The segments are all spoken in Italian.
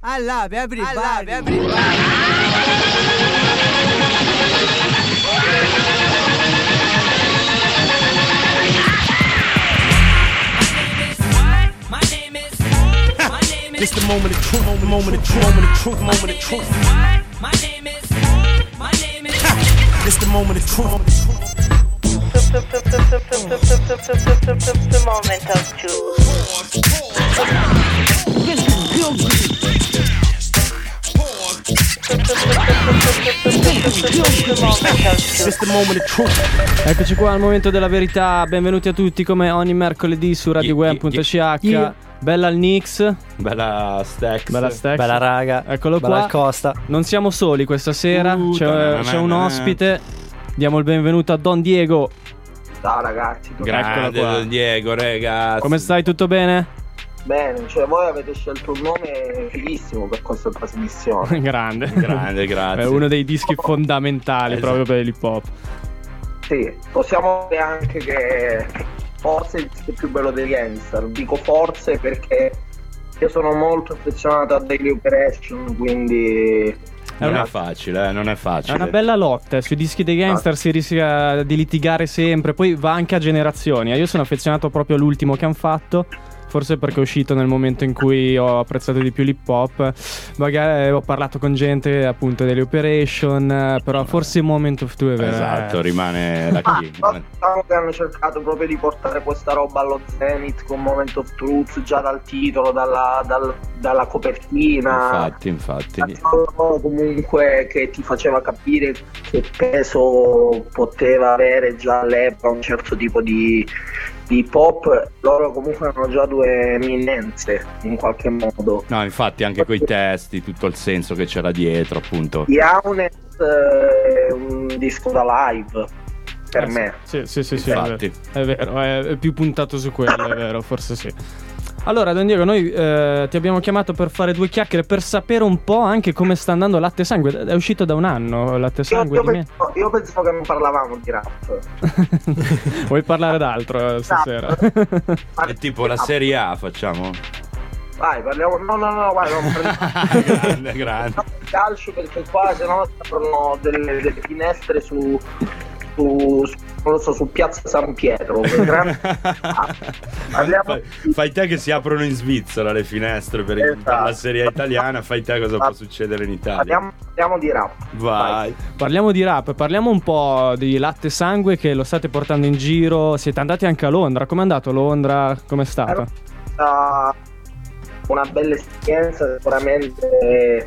I love everybody. It's the moment of truth, moment of truth, moment of truth, moment of truth. My name is. It's the moment of truth. The moment of truth. It's the moment of truth. Eccoci qua al momento della verità. Benvenuti a tutti come ogni mercoledì su RadioWeb.ch. Bella al Nix. Bella Stex. Bella raga. Eccolo bella qua. al Costa. Non siamo soli questa sera. C'è un ospite. Diamo il benvenuto a Don Diego. Ciao ragazzi. Grande Don Diego, ragazzi. Come stai? Tutto bene? Bene, cioè voi avete scelto un nome fighissimo per questa trasmissione. Grande, grazie. È uno dei dischi fondamentali proprio per l'hip hop. Sì, possiamo dire anche che forse il disco più bello dei Gangster. Dico forse perché io sono molto affezionato a Daily Operation, quindi non è facile. È una bella lotta, sui dischi dei Gangster si rischia di litigare sempre, poi va anche a generazioni. Io sono affezionato proprio all'ultimo che hanno fatto. Forse perché è uscito nel momento in cui ho apprezzato di più l'hip hop. Magari ho parlato con gente appunto delle Operation, però forse Moment of Truth è vero. Esatto, rimane la key. Diciamo che hanno cercato proprio di portare questa roba allo zenith con Moment of Truth già dal titolo, dalla copertina. Infatti. Comunque che ti faceva capire che peso poteva avere già all'epoca un certo tipo di hip hop. Loro comunque hanno già due eminenze in qualche modo. No, infatti anche coi testi, tutto il senso che c'era dietro, appunto. Yaonet è un disco da live per me. Sì, infatti. è vero, è più puntato su quello, è vero, forse sì. Allora Don Diego, noi ti abbiamo chiamato per fare due chiacchiere, per sapere un po' anche come sta andando Latte Sangue. È uscito da un anno Latte Sangue io pensavo che non parlavamo di rap. Vuoi parlare d'altro stasera? È tipo la Serie A, facciamo? Vai, parliamo. No, vai, non grande. Calcio, perché qua sennò aprono delle finestre su non lo so, su Piazza San Pietro. Fai te che si aprono in Svizzera le finestre per la Serie A italiana. Fai te cosa può succedere in Italia. Parliamo di rap. Vai. Parliamo di rap, parliamo un po' di Latte Sangue che lo state portando in giro. Siete andati anche a Londra. Com'è andato Londra? Com'è stato? Una bella esperienza, sicuramente.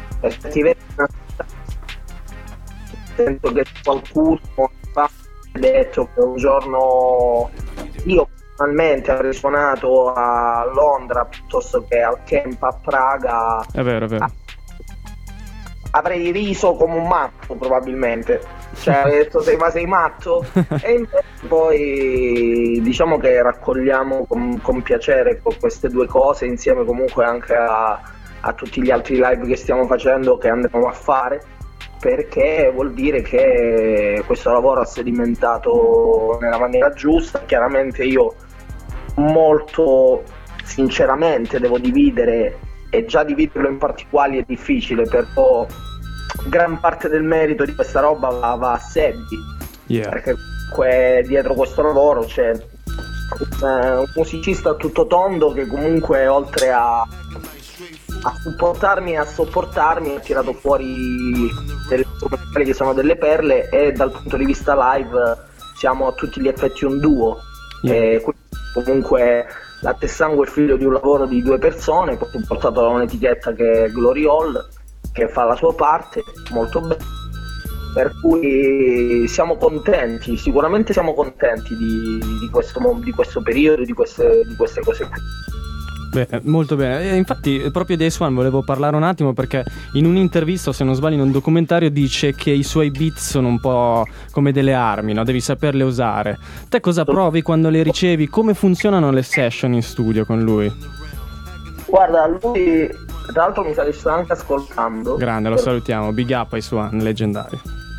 Sento che qualcuno ha detto che un giorno io personalmente avrei suonato a Londra piuttosto che al camp a Praga. È vero. Avrei riso come un matto probabilmente, cioè avrei detto sei matto. E invece poi diciamo che raccogliamo con piacere queste due cose insieme comunque anche a tutti gli altri live che stiamo facendo, che andremo a fare, perché vuol dire che questo lavoro ha sedimentato nella maniera giusta. Chiaramente io molto sinceramente devo dividere, e già dividerlo in particolari è difficile, però gran parte del merito di questa roba va a Sebbi, perché comunque dietro questo lavoro c'è un musicista a tutto tondo che comunque oltre a supportarmi e a sopportarmi ha tirato fuori delle che sono delle perle, e dal punto di vista live siamo a tutti gli effetti un duo. E comunque Latte Sangue è figlio di un lavoro di due persone, poi portato da un'etichetta che è Glory Hall, che fa la sua parte molto bene, per cui siamo contenti, sicuramente siamo contenti di questo periodo, di queste cose qui. Bene, molto bene. Infatti proprio di Ace One volevo parlare un attimo, perché in un'intervista, o se non sbaglio in un documentario, dice che i suoi beat sono un po' come delle armi, no? Devi saperle usare. Te cosa provi quando le ricevi? Come funzionano le session in studio con lui? Guarda, lui tra l'altro mi sta anche ascoltando. Grande, lo salutiamo. Big up Ace One, leggendario.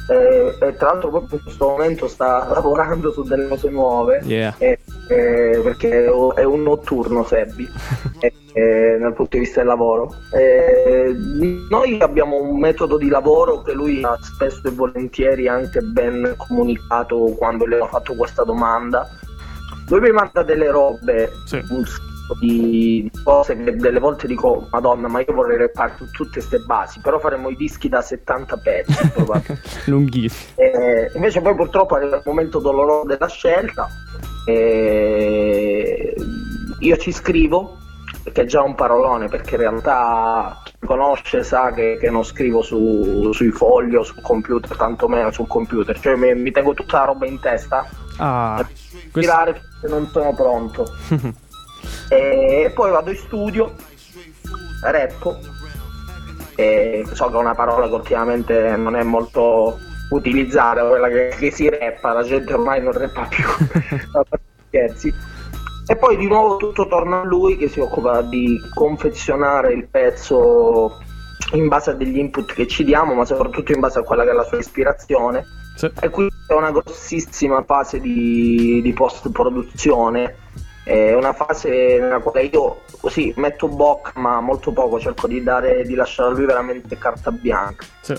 e tra l'altro proprio in questo momento sta lavorando su delle cose nuove, perché è un notturno Sebbi dal punto di vista del lavoro. Noi abbiamo un metodo di lavoro che lui ha spesso e volentieri anche ben comunicato quando le ho fatto questa domanda. Lui mi manda delle robe, di cose che delle volte dico Madonna, ma io vorrei rappare tutte queste basi, però faremo i dischi da 70 pezzi lunghissimi. Invece poi purtroppo arriva il momento doloroso della scelta, io ci scrivo, che è già un parolone, perché in realtà chi mi conosce sa che non scrivo sui fogli o sul computer, tantomeno sul computer, cioè mi tengo tutta la roba in testa tirare perché non sono pronto. E poi vado in studio, rappo, so che è una parola che ultimamente non è molto utilizzata, quella che si rappa, la gente ormai non rappa più. Scherzi. E poi di nuovo tutto torna a lui, che si occupa di confezionare il pezzo in base a degli input che ci diamo, ma soprattutto in base a quella che è la sua ispirazione. E qui c'è una grossissima fase di post-produzione, una fase nella quale io così metto bocca, ma molto poco, cerco di lasciare a lui veramente carta bianca.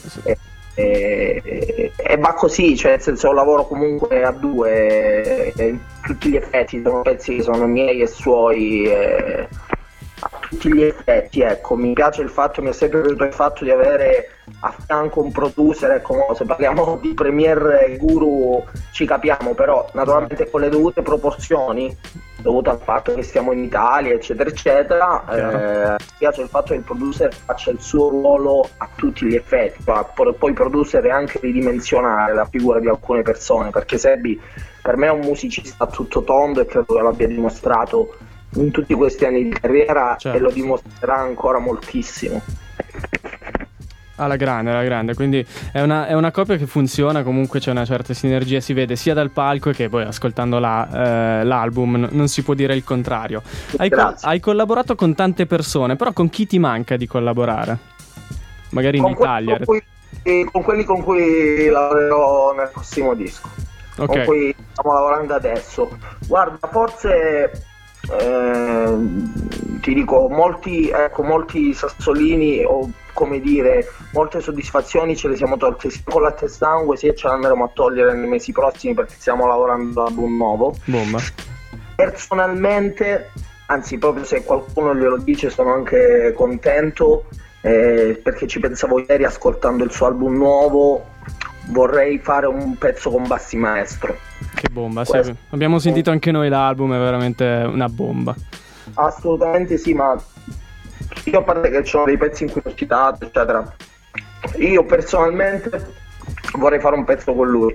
E va così, cioè nel senso lavoro comunque a due, tutti gli effetti sono pezzi che sono miei e suoi, a tutti gli effetti, ecco. Mi piace il fatto, mi è sempre piaciuto il fatto di avere a fianco un producer, ecco. Se parliamo di Premiere Guru ci capiamo, però naturalmente con le dovute proporzioni, dovuto al fatto che stiamo in Italia, eccetera eccetera. Mi piace il fatto che il producer faccia il suo ruolo a tutti gli effetti, poi il producer è anche ridimensionare la figura di alcune persone, perché Sebbi per me è un musicista a tutto tondo e credo che l'abbia dimostrato in tutti questi anni di carriera, e lo dimostrerà ancora moltissimo. Alla grande, quindi è una coppia che funziona, comunque c'è una certa sinergia, si vede sia dal palco che poi ascoltando l'album, non si può dire il contrario. Hai collaborato con tante persone, però con chi ti manca di collaborare? Magari in Italia. Con quelli con cui lavorerò nel prossimo disco, con cui stiamo lavorando adesso. Guarda, forse ti dico, molti sassolini, o come dire, molte soddisfazioni ce le siamo tolte sia con Latte e Sangue, sia ce le andremo a togliere nei mesi prossimi, perché stiamo lavorando ad un nuovo. Bomba. Personalmente, anzi proprio se qualcuno glielo dice, sono anche contento, perché ci pensavo ieri ascoltando il suo album nuovo. Vorrei fare un pezzo con Bassi Maestro. Che bomba, sì. Abbiamo sentito anche noi l'album, è veramente una bomba. Assolutamente sì, ma io, a parte che ci sono dei pezzi in cui ho citato, eccetera, io personalmente vorrei fare un pezzo con lui.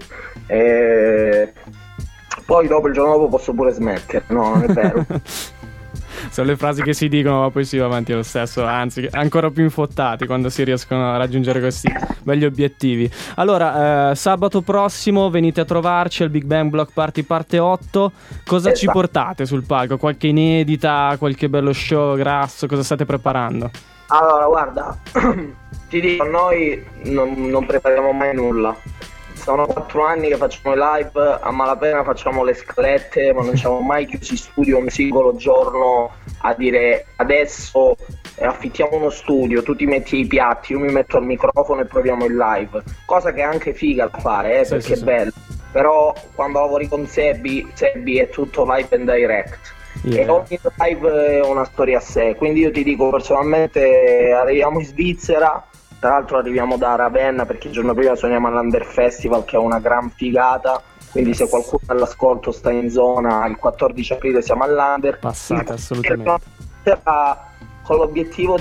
Poi dopo, il giorno dopo, posso pure smettere. No, non è vero. Sono le frasi che si dicono, ma poi si va avanti lo stesso, anzi ancora più infottati quando si riescono a raggiungere questi belli obiettivi. Allora, sabato prossimo venite a trovarci al Big Bang Block Party parte 8. Cosa ci portate sul palco? Qualche inedita, qualche bello show grasso? Cosa state preparando? Allora, guarda, ti dico, noi non prepariamo mai nulla. Sono 4 anni che facciamo i live, a malapena facciamo le scalette, ma non ci siamo mai chiusi in studio un singolo giorno a dire adesso affittiamo uno studio, tu ti metti i piatti, io mi metto al microfono e proviamo il live, cosa che è anche figa da fare, perché è bello. Però quando lavori con Sebbi è tutto live and direct. E ogni live è una storia a sé, quindi io ti dico, personalmente arriviamo in Svizzera. Tra l'altro arriviamo da Ravenna, perché il giorno prima suoniamo all'Under Festival, che è una gran figata, quindi se qualcuno all'ascolto sta in zona, il 14 aprile siamo all'Under. Passate assolutamente. Con l'obiettivo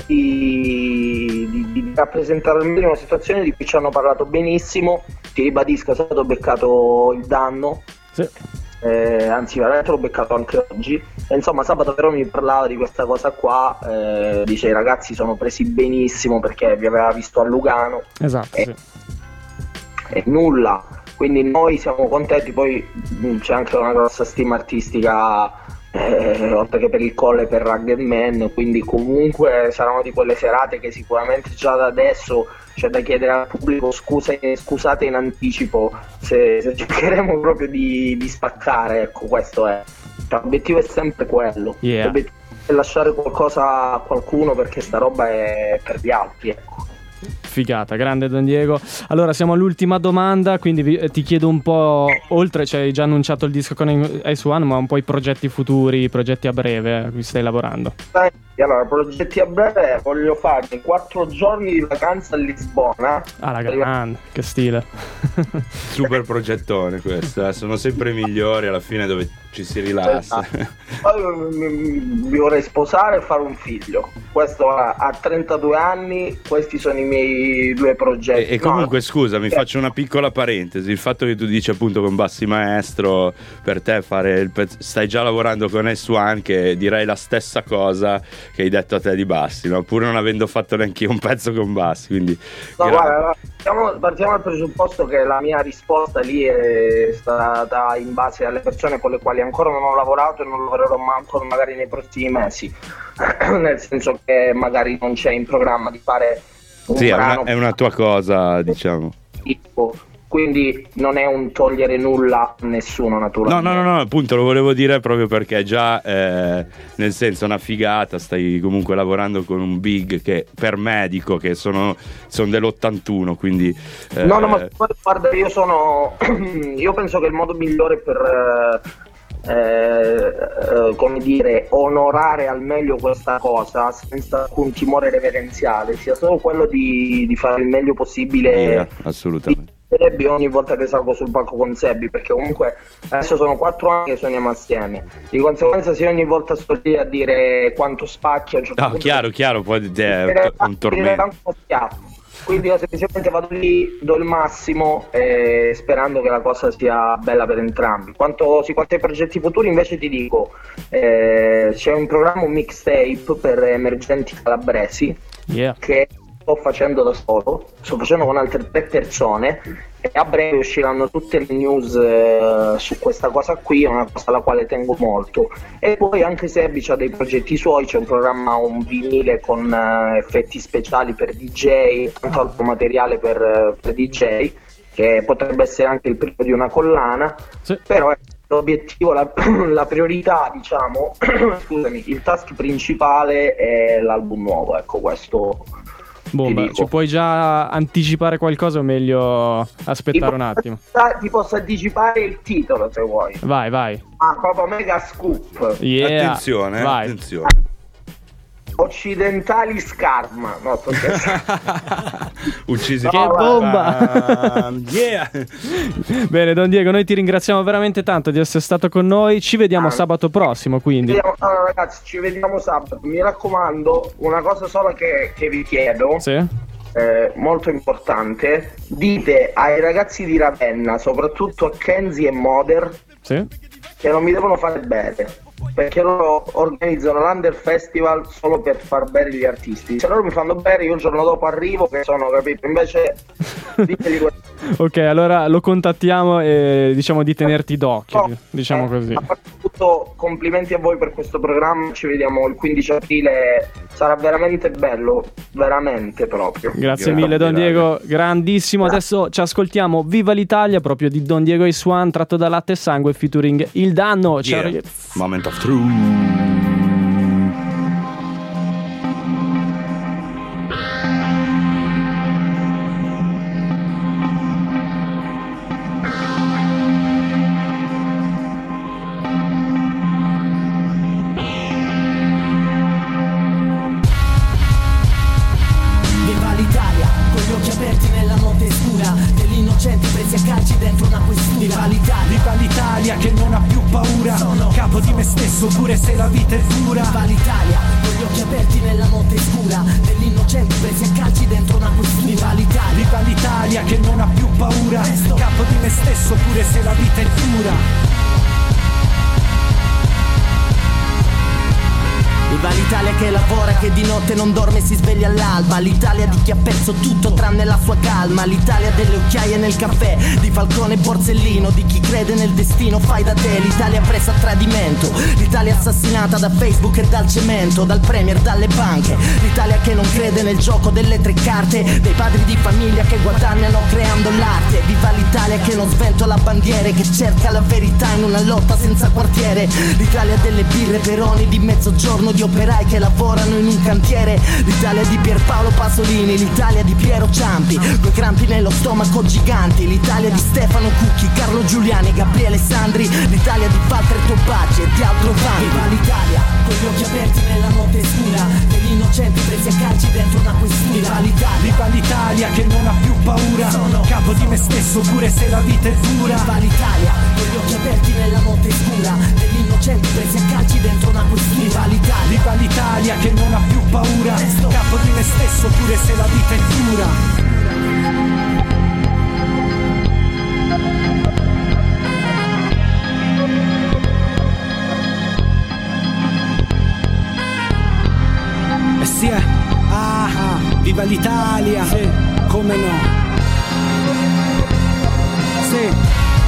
di rappresentare almeno una situazione di cui ci hanno parlato benissimo. Ti ribadisco, è stato beccato il danno. Sì. Anzi, veramente l'ho beccato anche oggi. E insomma, sabato però mi parlava di questa cosa qua, dice i ragazzi sono presi benissimo perché vi aveva visto a Lugano. Esatto, sì. E nulla, quindi noi siamo contenti. Poi c'è anche una grossa stima artistica oltre che per il Colle, per Rugged Man, quindi comunque saranno di quelle serate che sicuramente già da adesso c'è da chiedere al pubblico scusate in anticipo se cercheremo proprio di spaccare, ecco, questo è. L'obiettivo è sempre quello, l'obiettivo è lasciare qualcosa a qualcuno, perché sta roba è per gli altri, ecco. Figata, grande Don Diego. Allora siamo all'ultima domanda, quindi ti chiedo un po', oltre, cioè hai già annunciato il disco con S1, ma un po' i progetti futuri, i progetti a breve a cui stai lavorando. Allora, progetti a breve, voglio farmi 4 giorni di vacanza a Lisbona. Ah, la grande, che stile. Super progettone questo, sono sempre migliori alla fine, dove ci si rilassa. Poi mi vorrei sposare e fare un figlio. Questo a 32 anni, questi sono i miei 2 progetti. E comunque scusa, mi faccio una piccola parentesi. Il fatto che tu dici appunto con Bassi Maestro, per te fare il stai già lavorando con S1, che direi la stessa cosa che hai detto a te di Bassi, no? Pur non avendo fatto neanche io un pezzo con Bassi, quindi guarda, partiamo dal presupposto che la mia risposta lì è stata in base alle persone con le quali ancora non ho lavorato e non lavorerò ancora magari nei prossimi mesi, nel senso che magari non c'è in programma di fare un brano, è una tua cosa, diciamo. Quindi non è un togliere nulla a nessuno, naturalmente. No, appunto lo volevo dire proprio perché già nel senso una figata, stai comunque lavorando con un big che per me dico che sono dell'81, quindi no, ma guarda, io penso che il modo migliore per come dire, onorare al meglio questa cosa senza alcun timore reverenziale sia solo quello di fare il meglio possibile. Assolutamente. Sebbi ogni volta che salgo sul palco con Sebbi, perché comunque adesso sono 4 anni che suoniamo assieme, di conseguenza se ogni volta sto lì a dire quanto spacchi, a un certo punto chiaro, poi è un tormento. Quindi io semplicemente vado lì, do il massimo, sperando che la cosa sia bella per entrambi. Quanto ai progetti futuri invece ti dico, c'è un programma, un mixtape per emergenti calabresi, che sto facendo da solo, sto facendo con altre 3 persone, e a breve usciranno tutte le news su questa cosa qui, è una cosa alla quale tengo molto. E poi anche Sebbi ha dei progetti suoi, c'è un programma, un vinile con effetti speciali per DJ, tanto altro materiale per DJ, che potrebbe essere anche il primo di una collana, sì. Però l'obiettivo, la priorità, diciamo, scusami, il task principale è l'album nuovo, ecco, questo. Ci puoi già anticipare qualcosa o meglio aspettare un attimo? Ti posso anticipare il titolo se vuoi. Vai. Proprio mega scoop. Attenzione, vai. Attenzione. Occidentali Scarma. No, sto uccisi. Che bomba. Yeah. Bene Don Diego, noi ti ringraziamo veramente tanto di essere stato con noi. Ci vediamo sabato prossimo, quindi. Allora ragazzi, ci vediamo sabato. Mi raccomando, una cosa sola che vi chiedo. Sì. Molto importante, dite ai ragazzi di Ravenna, soprattutto a Kenzie e Moder, sì, che non mi devono fare bene, perché loro organizzano l'Under Festival solo per far bene gli artisti. Se loro mi fanno bene, io il giorno dopo arrivo che sono, capito? Invece diteli ok, allora lo contattiamo e diciamo di tenerti d'occhio, diciamo così. A parte tutto, complimenti a voi per questo programma, ci vediamo il 15 aprile, sarà veramente bello, veramente proprio. Grazie mille Don Diego, grandissimo. Adesso ci ascoltiamo Viva l'Italia, proprio di Don Diego S1, tratto da Latte e Sangue featuring Il Danno. Ciao ragazzi. Moment of truth. Viva l'Italia che non ha più paura, sono capo di me stesso pure se la vita è dura. Viva l'Italia con gli occhi aperti nella notte scura, degli innocenti presi a calci dentro una questura. Viva l'Italia che non ha più paura, capo di me stesso pure se la vita è dura. Viva l'Italia che lavora, che di notte non dorme e si sveglia all'alba. L'Italia di chi ha perso tutto tranne la sua calma. L'Italia delle occhiaie nel caffè, di Falcone e Borsellino, di chi crede nel destino fai da te. L'Italia presa a tradimento, l'Italia assassinata da Facebook e dal cemento, dal premier, dalle banche. L'Italia che non crede nel gioco delle tre carte, dei padri di famiglia che guadagnano creando l'arte. Viva l'Italia che non sventola bandiere, che cerca la verità in una lotta senza quartiere. L'Italia delle birre Peroni di mezzogiorno, di operai che lavorano in un cantiere. L'Italia di Pierpaolo Pasolini, l'Italia di Piero Ciampi, coi crampi nello stomaco giganti. L'Italia di Stefano Cucchi, Carlo Giuliani, Gabriele Sandri. L'Italia di Walter Tobacci e di altro Vanni. Viva l'Italia con gli occhi aperti nella notte scura, degli innocenti presi a calci dentro una questura. Viva l'Italia che non ha più paura, sono capo di me stesso pure se la vita è dura. Viva l'Italia con gli occhi aperti nella notte scura, degli innocenti presi a calci dentro una questura. Viva l'Italia che non ha più paura, capo di me stesso pure se la vita è dura. Viva l'Italia, sì. Come no? Sì.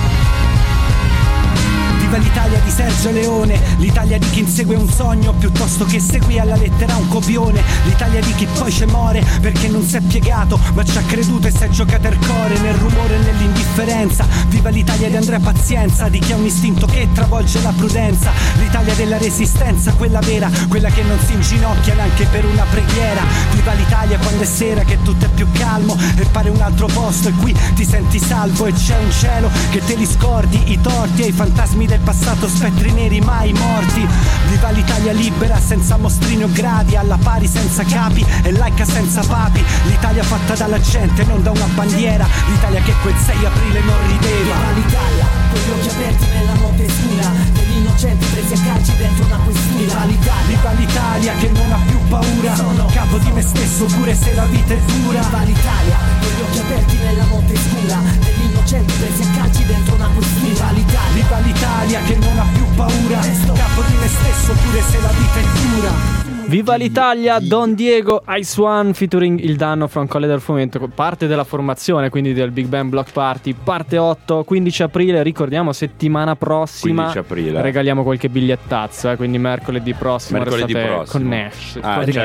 Viva l'Italia di Sergio Leone, l'Italia di chi insegue un sogno piuttosto che segui alla lettera un copione. L'Italia di chi poi ci muore perché non si è piegato ma ci ha creduto e si è giocato il cuore nel rumore e nell'indifferenza. Viva l'Italia di Andrea Pazienza, di chi ha un istinto che travolge la prudenza. L'Italia della resistenza, quella vera, quella che non si inginocchia neanche per una preghiera. Viva l'Italia quando è sera che tutto è più calmo e pare un altro posto e qui ti senti salvo e c'è un cielo che te li scordi, i torti e i fantasmi del passato, spettri neri mai morti. Viva l'Italia libera senza mostrini o gradi, alla pari senza capi e laica senza papi. L'Italia fatta dalla gente, non da una bandiera. L'Italia che quel 6 aprile non rideva. Viva l'Italia con gli occhi aperti nella notte scura, degli innocenti presi a calci dentro una questura. Viva l'Italia che non ha più paura, sono capo di me stesso pure se la vita è dura. Viva l'Italia con gli occhi aperti nella notte scura, degli innocenti presi a calci dentro una questura. Viva l'Italia che non ha più paura, capo di me stesso pure se la vita è dura. Viva l'Italia, Don Diego, Ice One featuring Il Danno, From Colle del Fomento, parte della formazione quindi del Big Bang Block Party, parte 8, 15 aprile, ricordiamo settimana prossima 15 aprile. Regaliamo qualche bigliettazzo, quindi mercoledì prossimo restate connessi.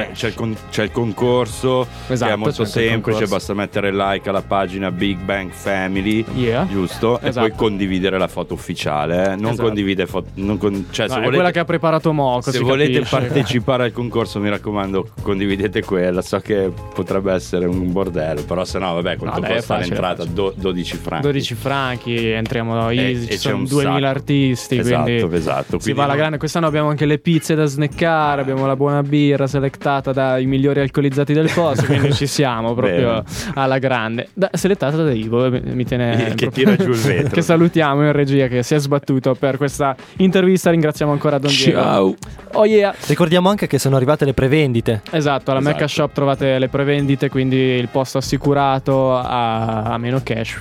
C'è il concorso, esatto, che è molto semplice, basta mettere like alla pagina Big Bang Family, giusto? Esatto. E poi condividere la foto ufficiale, non esatto. Condivide foto, cioè, se volete, è quella che ha preparato Moco. Se volete partecipare al concorso, mi raccomando, condividete quella. So che potrebbe essere un bordello, però se no, vabbè, quanto costa l'entrata? 12 franchi. 12 franchi, entriamo easy, ci sono 2000 artisti, esatto. Si quindi va alla grande. Quest'anno abbiamo anche le pizze da snackare, abbiamo la buona birra selectata dai migliori alcolizzati del posto, quindi ci siamo proprio alla grande. Selettata da Ivo, mi tiene che tira giù il vetro. Che salutiamo in regia, che si è sbattuto per questa intervista. Ringraziamo ancora Don Diego. Ciao. Oh yeah. Ricordiamo anche che sono arrivate le prevendite. Esatto, alla Mecca Shop trovate le prevendite, quindi il posto assicurato a meno cash.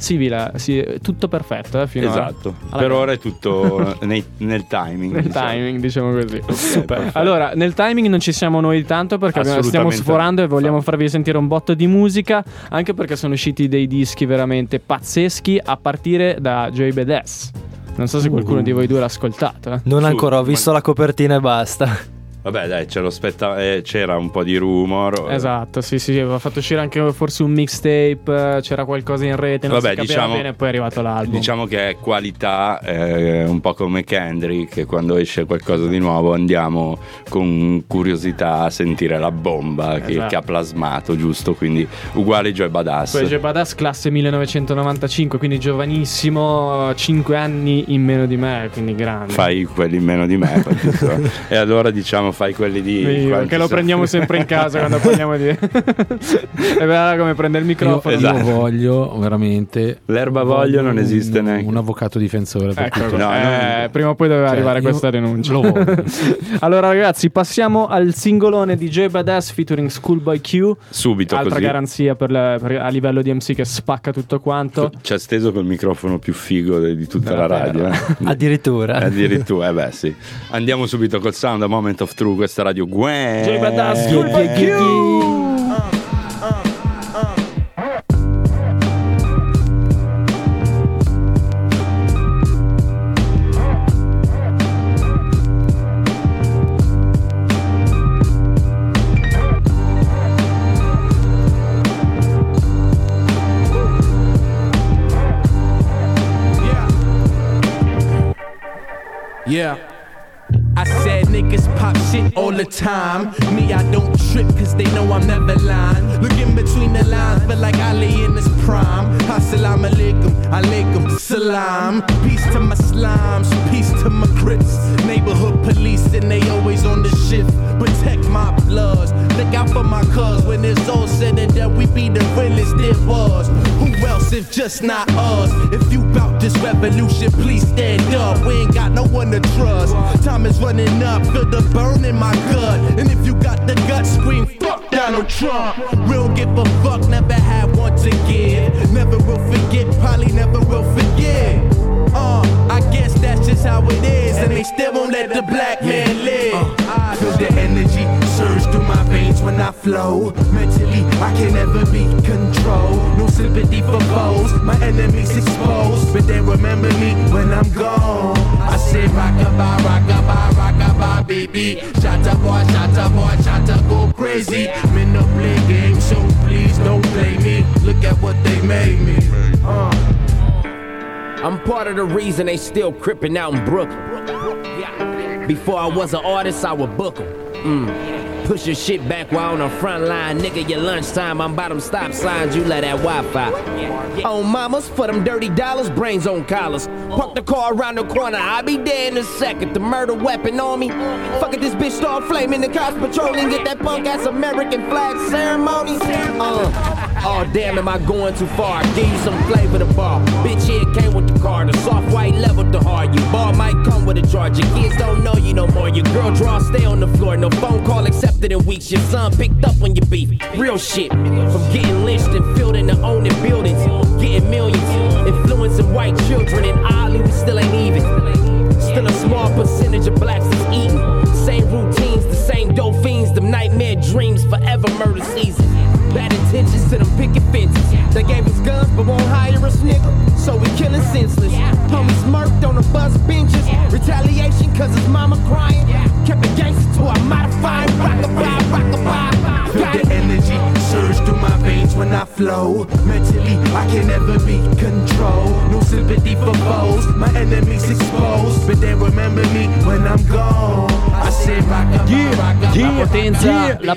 Tutto perfetto, esatto. Per ora è tutto nel timing. Nel timing, diciamo così. Super. Allora, nel timing non ci siamo noi tanto perché stiamo sforando e vogliamo farvi sentire un botto di musica, anche perché sono usciti dei dischi veramente pazzeschi a partire da Joey Badass. Non so se qualcuno di voi due l'ha ascoltato. Non ancora, ho visto la copertina e basta. Vabbè, dai, c'era un po' di rumor. Esatto, sì, aveva fatto uscire anche forse un mixtape, c'era qualcosa in rete, non si capiva bene, poi è arrivato l'album. Diciamo che è qualità, un po' come Kendrick, che quando esce qualcosa di nuovo andiamo con curiosità a sentire la bomba che ha plasmato, giusto? Quindi uguale Joey Badass. Poi Joey Badass classe 1995, quindi giovanissimo, 5 anni in meno di me, quindi grande. Fai quelli in meno di me, e allora diciamo fai quelli di che lo prendiamo sempre in casa quando parliamo di è vero come prende il microfono. Io voglio veramente non esiste neanche un avvocato difensore per tutto. Prima o poi doveva arrivare questa denuncia. Allora ragazzi, passiamo al singolone di Joey Badass featuring Schoolboy Q, subito, altra così garanzia a livello di MC che spacca tutto quanto. Ci ha steso col microfono più figo di tutta la radio. Addirittura beh sì. Andiamo subito col sound, A Moment of True, questa Radio Gwen. Joey Badass, School by Q. Yeah. I said niggas pop shit all the time. Me, I don't trip cause they know I'm never lying. Looking between the lines, but like Ali in his prime. Assalamu alaikum, alaikum salam. Peace to my slimes, peace to my crips. Neighborhood police and they always on the shift. Protect my bloods, look out for my cuz. When it's all said and done, we be the realest there was. Who else if just not us? If you bout this revolution, please stand up. We ain't got no one to trust. Time is running up, feel the burn in my gut. And if you got the guts, scream fuck Donald Trump. We don't give a fuck, never had one to give. Never will forget, probably never will forget. I guess that's just how it is. And they still won't let the black man live. I feel the energy surge through my veins when I flow. Mentally, I can never be controlled. No sympathy for foes, my enemies exposed. But they remember me when I'm gone. I say rockabye, rockabye, rockabye, baby. Shatta boy, shatta go crazy. Men no play games, so please don't play me. Look at what they made me. I'm part of the reason they still crippin' out in Brooklyn. Before I was an artist, I would book 'em. Push your shit back while on the front line. Nigga, your lunchtime, I'm by them stop signs, you let that Wi-Fi. On mamas, for them dirty dollars, brains on collars. Park the car around the corner, I'll be there in a second. The murder weapon on me. Fuck it, this bitch start flaming, the cops patrolling. Get that punk ass American flag ceremony. Oh damn, am I going too far? Give you some flavor to bar. Bitch, here came with the car. The soft white leveled the hard. Your bar might come with a charge. Your kids don't know you no more. Your girl draw, stay on the floor. No phone call accepted in weeks. Your son picked up when you beef. Real shit. From getting lynched and filled into owning buildings. Getting millions. Influencing white children. And oddly, we still ain't even. Still a small percentage of blacks is eating. Same routines, the same dope fiends. Them nightmare dreams, forever murder season. Bad intentions to them picket fences. They gave us guns but won't hire us, nigga. So we killing senseless. Homies murked on the bus benches. Retaliation cause his mama crying. Kept it gangster till I modified. Rockabye, rockabye. Feel the energy surge through my veins when I flow. Mentally, I can never be controlled. No sympathy for foes. My enemies exposed. But they remember me when I'm gone. I say rockabye, rockabye. La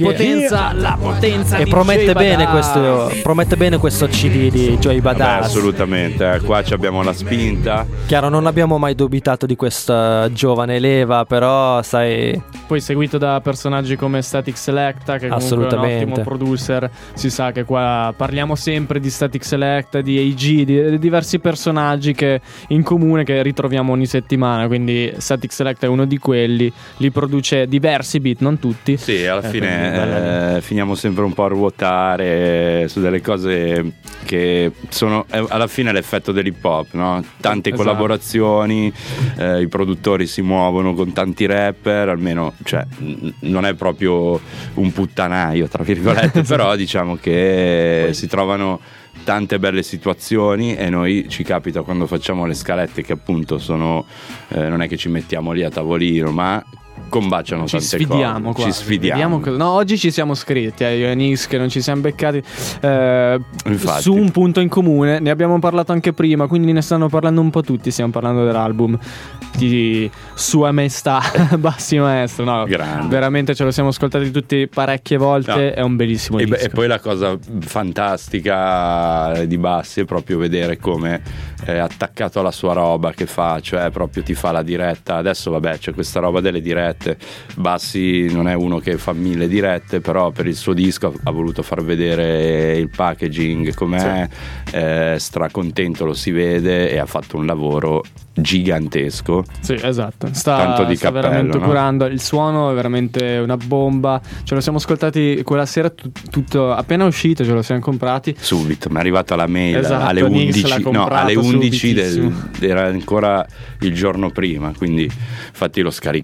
potenza E di promette Joey bene, Badass. promette bene questo CD di Joey Badass. Assolutamente, qua abbiamo la spinta. Chiaro, non abbiamo mai dubitato di questa giovane leva, però sai, Poi seguito da personaggi come Static Selecta, che comunque è un Assolutamente. ottimo producer. Si sa che qua parliamo sempre di Static Selecta, di AG, di diversi personaggi che in comune che ritroviamo ogni settimana. Quindi Static Selecta è uno di quelli. Li produce diversi beat, non tutti. Sì, alla quindi bella fine lì. finiamo sempre un po' a ruotare su delle cose che sono alla fine l'effetto dell'hip hop, no? Tante Esatto. collaborazioni, i produttori si muovono con tanti rapper, almeno cioè, non è proprio un puttanaio tra virgolette, però diciamo che si trovano tante belle situazioni e noi ci capita quando facciamo le scalette che appunto sono non è che ci mettiamo lì a tavolino, ma combaciano Ci tante sfidiamo cose. qua. Ci sfidiamo. No, oggi ci siamo scritti, io e Nix, che non ci siamo beccati Infatti. su un punto in comune. Ne abbiamo parlato anche prima, quindi ne stanno parlando un po' tutti. Stiamo parlando dell'album di Sua Maestà Bassi Maestro. No, Grande. veramente ce lo siamo ascoltati tutti parecchie volte. No. È un bellissimo disco. E poi la cosa fantastica di Bassi è proprio vedere come è attaccato alla sua roba che fa, cioè proprio ti fa la diretta. Adesso vabbè c'è questa roba delle dirette. Bassi non è uno che fa 1000 dirette, però per il suo disco ha voluto far vedere il packaging com'è, stracontento, lo si vede, e ha fatto un lavoro gigantesco. Sì, esatto. Tanto di sta cappello, veramente no? curando. Il suono è veramente una bomba. Ce lo siamo ascoltati quella sera, tutto appena uscito, ce lo siamo comprati. Subito, mi è arrivata la mail Esatto, alle Nix 11, l'ha no, comprato alle 11 subitissimo. era ancora il giorno prima, quindi infatti l'ho scaricato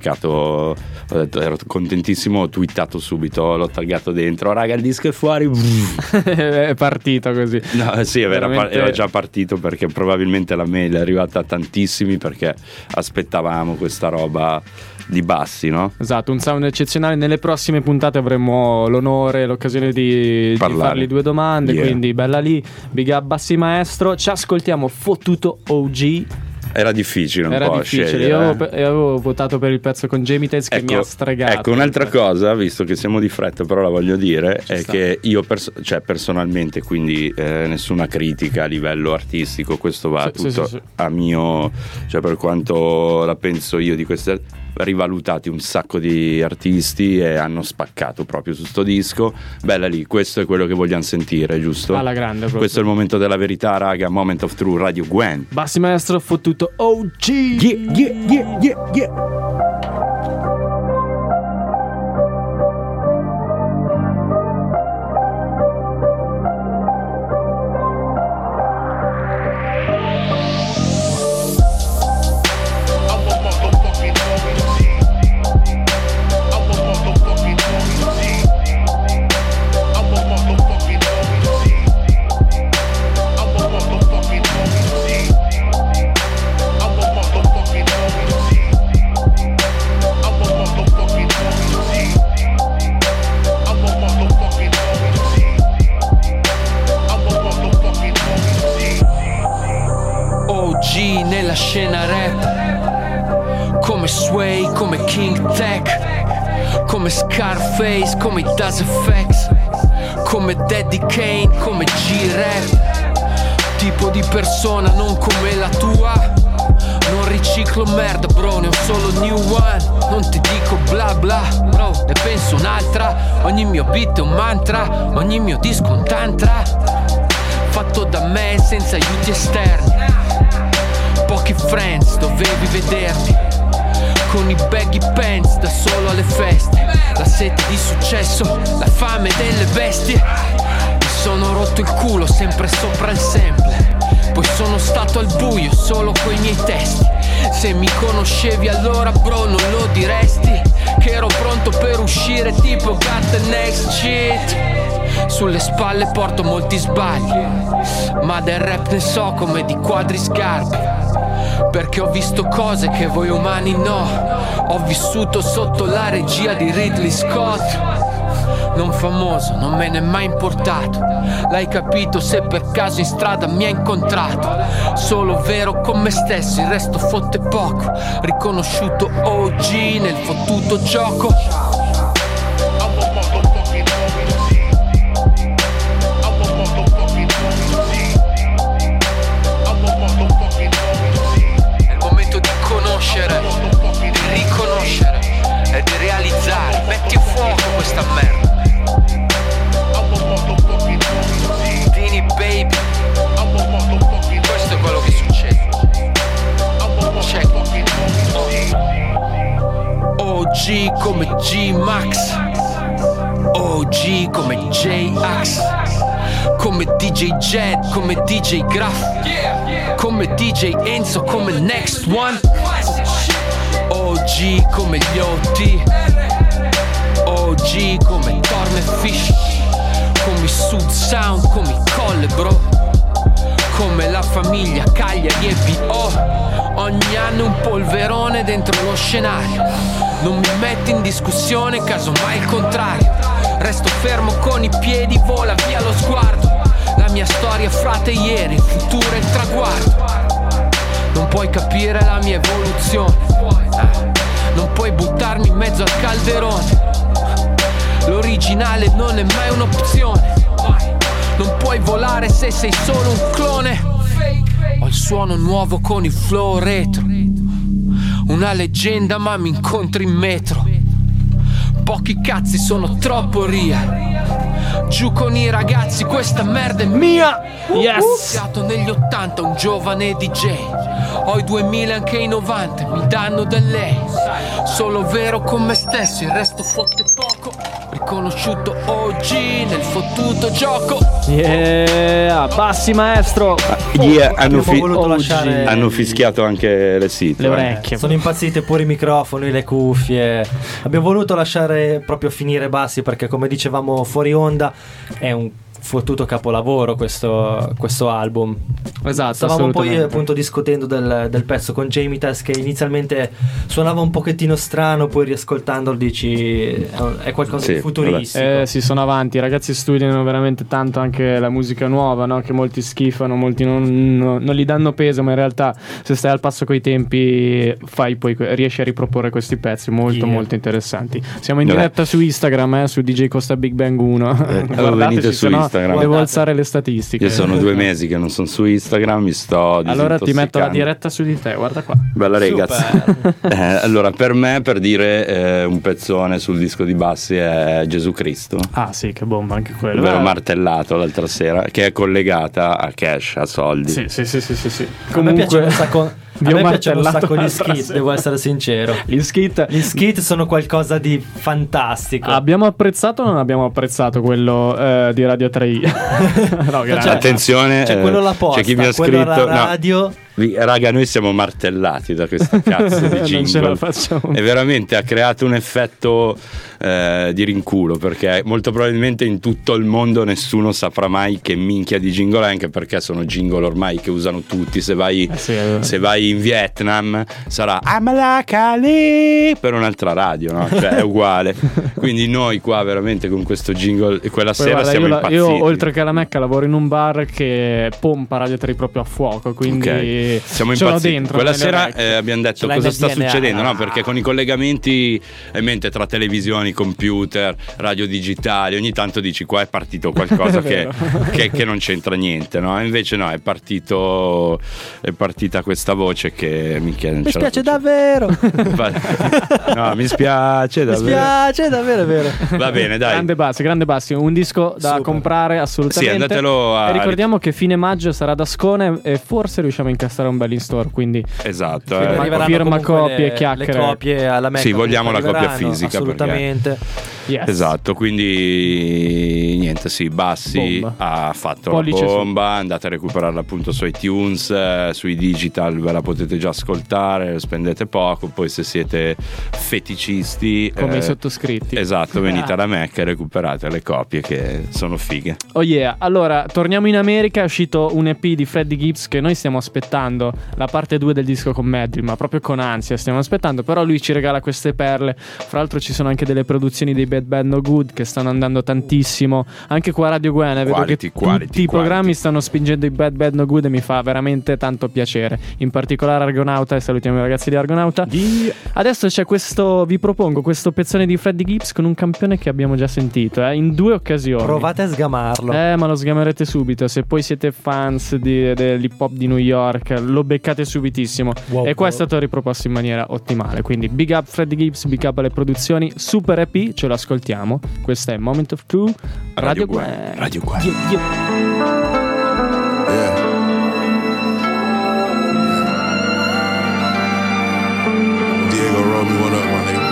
ho detto, ero contentissimo, ho twittato subito, l'ho taggato dentro, raga il disco è fuori. È partito così. No, sì, Veramente... era già partito, perché probabilmente la mail è arrivata a tantissimi, perché aspettavamo questa roba di bassi, no? Esatto, un sound eccezionale. Nelle prossime puntate avremo l'onore, l'occasione di fargli 2 domande, quindi bella lì, big up Bassi Maestro. Ci ascoltiamo Fottuto OG. Era difficile un po' difficile. scegliere. Io avevo votato per il pezzo con Jamie Tez, che mi ha stregato. Ecco, un'altra cosa, visto che siamo di fretta, però la voglio dire, è che io personalmente, quindi nessuna critica a livello artistico, questo va tutto a mio, cioè per quanto la penso io di queste, rivalutati un sacco di artisti e hanno spaccato proprio su sto disco. Bella lì, questo è quello che vogliamo sentire, giusto? Alla grande proprio. Questo è il momento della verità, raga. Moment of Truth, Radio Gwen. Bassi Maestro, Fottuto OG. Yeah. Nella scena rap, come Sway, come King Tech, come Scarface, come Das FX, come Daddy Kane, come G-Rap. Tipo di persona non come la tua, non riciclo merda bro, ne ho solo new one. Non ti dico bla bla bro, ne penso un'altra. Ogni mio beat è un mantra, ogni mio disco un tantra, fatto da me senza aiuti esterni. Pochi friends, dovevi vedermi con i baggy pants da solo alle feste. La sete di successo, la fame delle bestie. Mi sono rotto il culo sempre sopra il sample. Poi sono stato al buio solo coi miei testi. Se mi conoscevi allora bro non lo diresti, che ero pronto per uscire tipo got the next shit. Sulle spalle porto molti sbagli, ma del rap ne so come di quadriscarpe, perché ho visto cose che voi umani no. Ho vissuto sotto la regia di Ridley Scott. Non famoso, non me n'è mai importato. L'hai capito se per caso in strada mi hai incontrato. Solo vero con me stesso, il resto fotte poco. Riconosciuto OG nel fottuto gioco. Di riconoscere e di realizzare. Metti a fuoco questa merda. Dini baby, questo è quello che succede. Check. OG come G-Max, OG come J-Ax, come DJ Jed, come DJ Graf, come DJ Enzo, come Next One. OG come gli OT, OG come Torn e Fish, come i Sud Sound, come i Colle bro, come la famiglia Cagliari e B.O. Ogni anno un polverone dentro lo scenario. Non mi metti in discussione, casomai il contrario. Resto fermo con i piedi, vola via lo sguardo. La mia storia frate ieri, il futuro è il traguardo. Non puoi capire la mia evoluzione, non puoi buttarmi in mezzo al calderone. L'originale non è mai un'opzione. Non puoi volare se sei solo un clone. Ho il suono nuovo con il flow retro. Una leggenda ma mi incontri in metro. Pochi cazzi sono troppo real. Giù con i ragazzi, questa merda è mia. Yes. Ho iniziato negli 80, un giovane DJ. Ho i 2000 anche i 90, mi danno da lei. Solo vero con me stesso, il resto fotte poco. Riconosciuto OG nel fottuto gioco. Yeah, bassi maestro. Hanno fischiato anche le sito. Le orecchie. Sono impazzite pure i microfoni, le cuffie. Abbiamo voluto lasciare proprio finire bassi perché, come dicevamo fuori onda, è un fottuto capolavoro questo album. Esatto. Stavamo poi appunto discutendo del pezzo con Jamie Tess, che inizialmente suonava un pochettino strano, poi riascoltandolo dici è qualcosa di futuristico. Sì, sono avanti, i ragazzi studiano veramente tanto anche la musica nuova, no? Che molti schifano, molti non gli danno peso, ma in realtà se stai al passo coi tempi poi riesci a riproporre questi pezzi molto molto interessanti. Siamo in diretta su Instagram, su DJ Costa Big Bang 1. Venite su Instagram. Devo alzare le statistiche. Io sono 2 mesi che non sono su Instagram, mi sto disintossicando. Allora ti metto la diretta su di te, guarda qua. Bella ragazzi. Allora per me, per dire un pezzone sul disco di bassi è Gesù Cristo. Ah sì, che bomba anche quello. Ve l'ho martellato l'altra sera, che è collegata a cash, a soldi. Sì. Comunque, a me piace un sacco. A me piacciono un sacco gli skit, devo essere sincero. Gli skit sono qualcosa di fantastico. Abbiamo apprezzato o non abbiamo apprezzato quello di Radio 3i? No, attenzione, c'è quello la posta, c'è chi mi ha quello scritto alla radio. No. Raga, noi siamo martellati da questa cazzo di jingle. Non ce la facciamo. E veramente ha creato un effetto di rinculo, perché molto probabilmente in tutto il mondo nessuno saprà mai che minchia di jingle è, anche perché sono jingle ormai che usano tutti. Se vai in Vietnam sarà Amalakali per un'altra radio, no? Cioè è uguale. Quindi noi qua veramente con questo jingle quella poi sera guarda, siamo impazziti. Io oltre che alla Mecca lavoro in un bar che pompa Radio 3 proprio a fuoco, quindi siamo impazziti. dentro quella sera abbiamo detto cosa sta succedendo, no? Perché con i collegamenti in mente tra televisioni, computer, radio digitali, ogni tanto dici qua è partito qualcosa che non c'entra niente, no? Invece no, è partita questa voce che mi spiace davvero. No, mi spiace davvero. Mi spiace davvero, è vero. Va bene, dai. Grande bassi, un disco da comprare assolutamente. Sì, andatelo a... E ricordiamo che fine maggio sarà da Ascone e forse riusciamo a incastrare un bel in store, quindi esatto, firma copie e chiacchiere. Le copie alla Mecca. Sì, vogliamo la copia fisica, assolutamente. Yes. Esatto, quindi niente, Bassi ha fatto Pollice la bomba, andate a recuperarla appunto su iTunes, sui digital ve la potete già ascoltare, spendete poco, poi se siete feticisti come i sottoscritti, esatto, venite alla Mecca e recuperate le copie che sono fighe. Oh yeah, allora torniamo in America, è uscito un EP di Freddie Gibbs che noi stiamo aspettando, la parte 2 del disco con Medley, ma proprio con ansia stiamo aspettando, però lui ci regala queste perle. Fra l'altro ci sono anche delle produzioni dei Bad Bad No Good che stanno andando tantissimo, anche qua a Radio Guene vedo che tutti i programmi stanno spingendo i Bad Bad No Good e mi fa veramente tanto piacere, in particolare Argonauta, e salutiamo i ragazzi di Argonauta. Adesso c'è questo, vi propongo questo pezzone di Freddie Gibbs con un campione che abbiamo già sentito in 2 occasioni. Provate a sgamarlo. Ma lo sgamerete subito, se poi siete fans dell'hip hop di New York lo beccate subitissimo. E qua è stato riproposto in maniera ottimale, quindi big up Freddie Gibbs, big up alle produzioni, super EP, ce lo ascoltiamo. Questa è Moment of Truth, Radio Guene. Radio Guene. Diego, roll me one up, my nigga.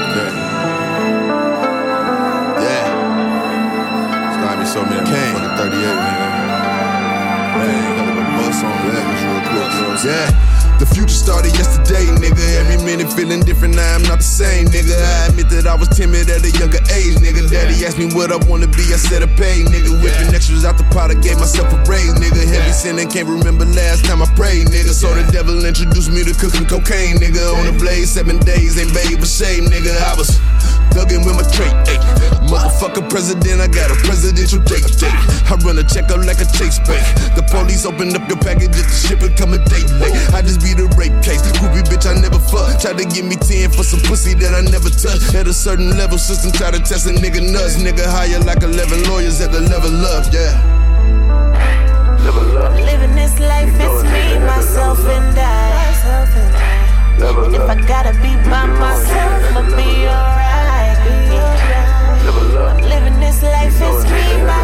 Slide me so many fucking 38, nigga. Man, gotta go bust on that real quick, yeah. The future started yesterday, nigga. Every minute feeling different, now I'm not the same, nigga. I admit that I was timid at a younger age, nigga. Daddy asked me what I wanna be, I said I pay, nigga. Whipping extras out the pot, I gave myself a raise, nigga. Heavy sinning, can't remember last time I prayed, nigga. So the devil introduced me to cooking cocaine, nigga. On the blaze, 7 days, ain't babe a shame, nigga. I was thuggin' with my trait, ayy. Motherfucker president, I got a presidential date. I run a check up like a Chase bank. The police open up your package, just the ship it come a day late. I just be the rape case, groupie bitch I never fuck. Tried to give me 10 for some pussy that I never touched. At a certain level, system try to test a nigga nuts. Nigga hire like 11 lawyers at the level up, yeah. I'm living this life, it's me, myself and I. And if I gotta be by myself, I'll be alright. I'm living this life, it's me, myself.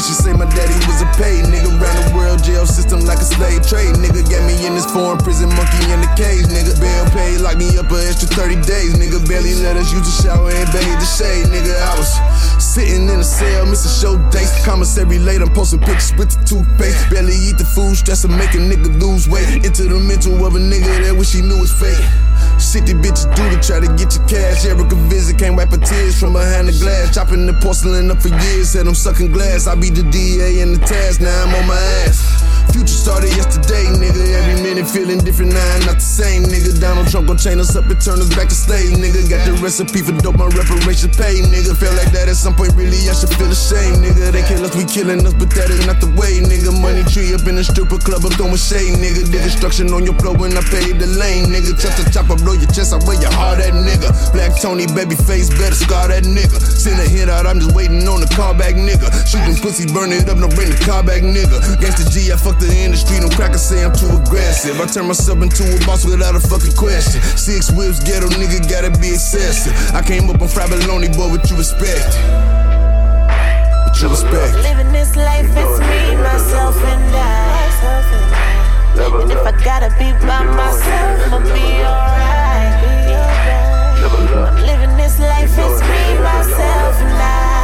She say my daddy was a paid nigga. Ran the world jail system like a slave trade. Nigga got me in this foreign prison, monkey in the cage. Nigga bail paid, locked me up an extra 30 days. Nigga barely let us use the shower and bathe the shade. Nigga, I was sitting in a cell, missing show dates. Commissary late, I'm posting pictures with the toothpaste. Barely eat the food, stress of making nigga lose weight. Into the mental of a nigga that wish he knew his fate. Shit these bitches do to try to get your cash. Erica visit, can't wipe her tears from behind the glass. Chopping the porcelain up for years, said I'm sucking glass. I be the DA in the task, now I'm on my ass. Future started yesterday, nigga. Every minute feeling different, now I'm not the same, nigga. Donald Trump gon' chain us up and turn us back to slave, nigga. Got the recipe for dope, my reparations paid, nigga. Felt like that at some point, really, I should feel ashamed, nigga. They kill us, we killing us, but that is not the way, nigga. Money tree up in the stripper club, I'm throwing shade, nigga. Did destruction on your floor when I paid the lane, nigga. Chop to chop, I blow your chest, I wear your heart, that nigga. Black Tony, baby face, better scar that nigga. Send a hit out, I'm just waiting on the car back, nigga. Shooting pussy, burn it up, no bring the car back, nigga. Gangsta G, I fuck the industry, don't crackers say I'm too aggressive. I turn myself into a boss without a fucking question. 6 whips, ghetto nigga, gotta be excessive. I came up on Frabaloni, boy, what you expect? What you expect? Living this life, it's me, myself, and I. And if I gotta be by myself, I'll be alright. I'm living this life, it's me, myself, and